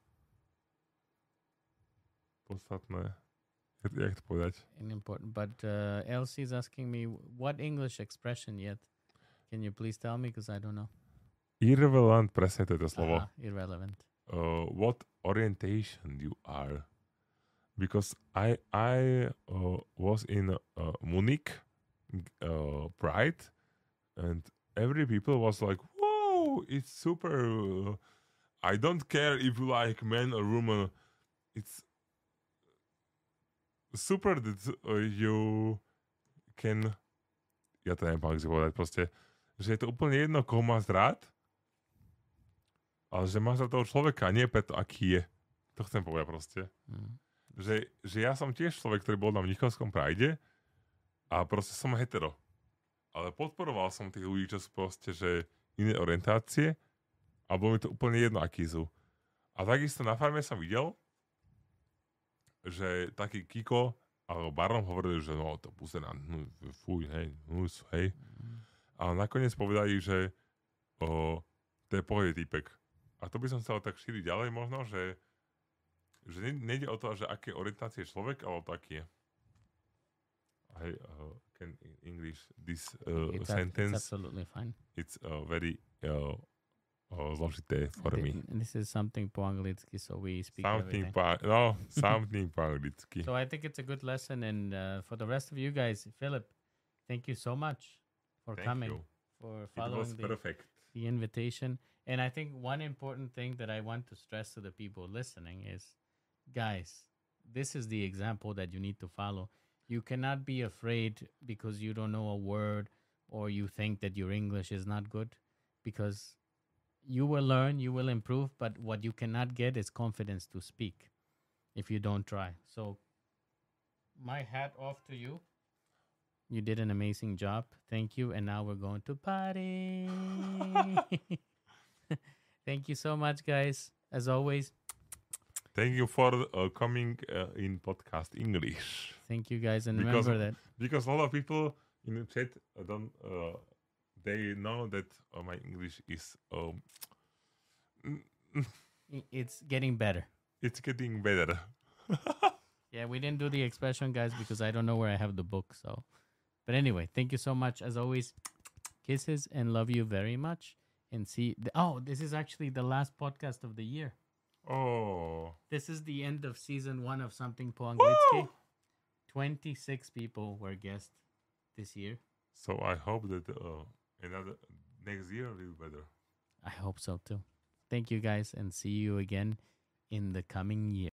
podstatné. Jak to povedať? Important. But Elsie is asking me, what English expression yet? Can you please tell me? Because I don't know. Irrelevant, presne to je to slovo. Irrelevant. What orientation you are? Because I was in Munich Pride, and every people was like, "Whoa, it's super! I don't care if you like man or woman. It's super that you can." Ja to neviem, jak si povedať, proste, že je to úplne jedno, koho máš rád, ale že máš rád toho človeka, a nie preto, aký je. To chcem povedať proste. Mm. Že ja som tiež človek, ktorý bol na Mnichovskom Pride a proste som hetero. Ale podporoval som tých ľudí, čo sú proste, že iné orientácie a bolo mi to úplne jedno, akí sú. A takisto na farme som videl, že taký Kiko alebo Baron hovorili, že no to púsená, fuj, hej, hej. Ale nakoniec povedali, že to je pohode týpek. A to by som chcel tak šíriť ďalej možno, že nejde o to, že aké orientácie je človek, ale o to, aký je. I can English this It's sentence. absolutely fine. It's very zložité for me. This is something po anglicky, so we speak Something everything. something po anglicky. So I think it's a good lesson, and for the rest of you guys, Philip, thank you so much for Thank coming, you. for It was following perfect. the invitation. And I think one important thing that I want to stress to the people listening is, guys, this is the example that you need to follow. You cannot be afraid because you don't know a word or you think that your English is not good, because you will learn, you will improve, but what you cannot get is confidence to speak if you don't try. So my hat off to you. You did an amazing job. Thank you. And now we're going to party. Thank you so much, guys. As always, Thank you for coming in podcast English. thank you, guys. And Because- remember that Because a lot of people in the chat don't they know that my English is it's getting better. it's getting better. Yeah, we didn't do the expression, guys, because I don't know where I have the book. So, but anyway, thank you so much. As always, kisses and love you very much. And see, this is actually the last podcast of the year. Oh, This is the end of season 1 of Something Po Anglicky. Woo! 26 people were guests this year. so I hope that another next year will be better. I hope so too. Thank you, guys, and see you again in the coming year.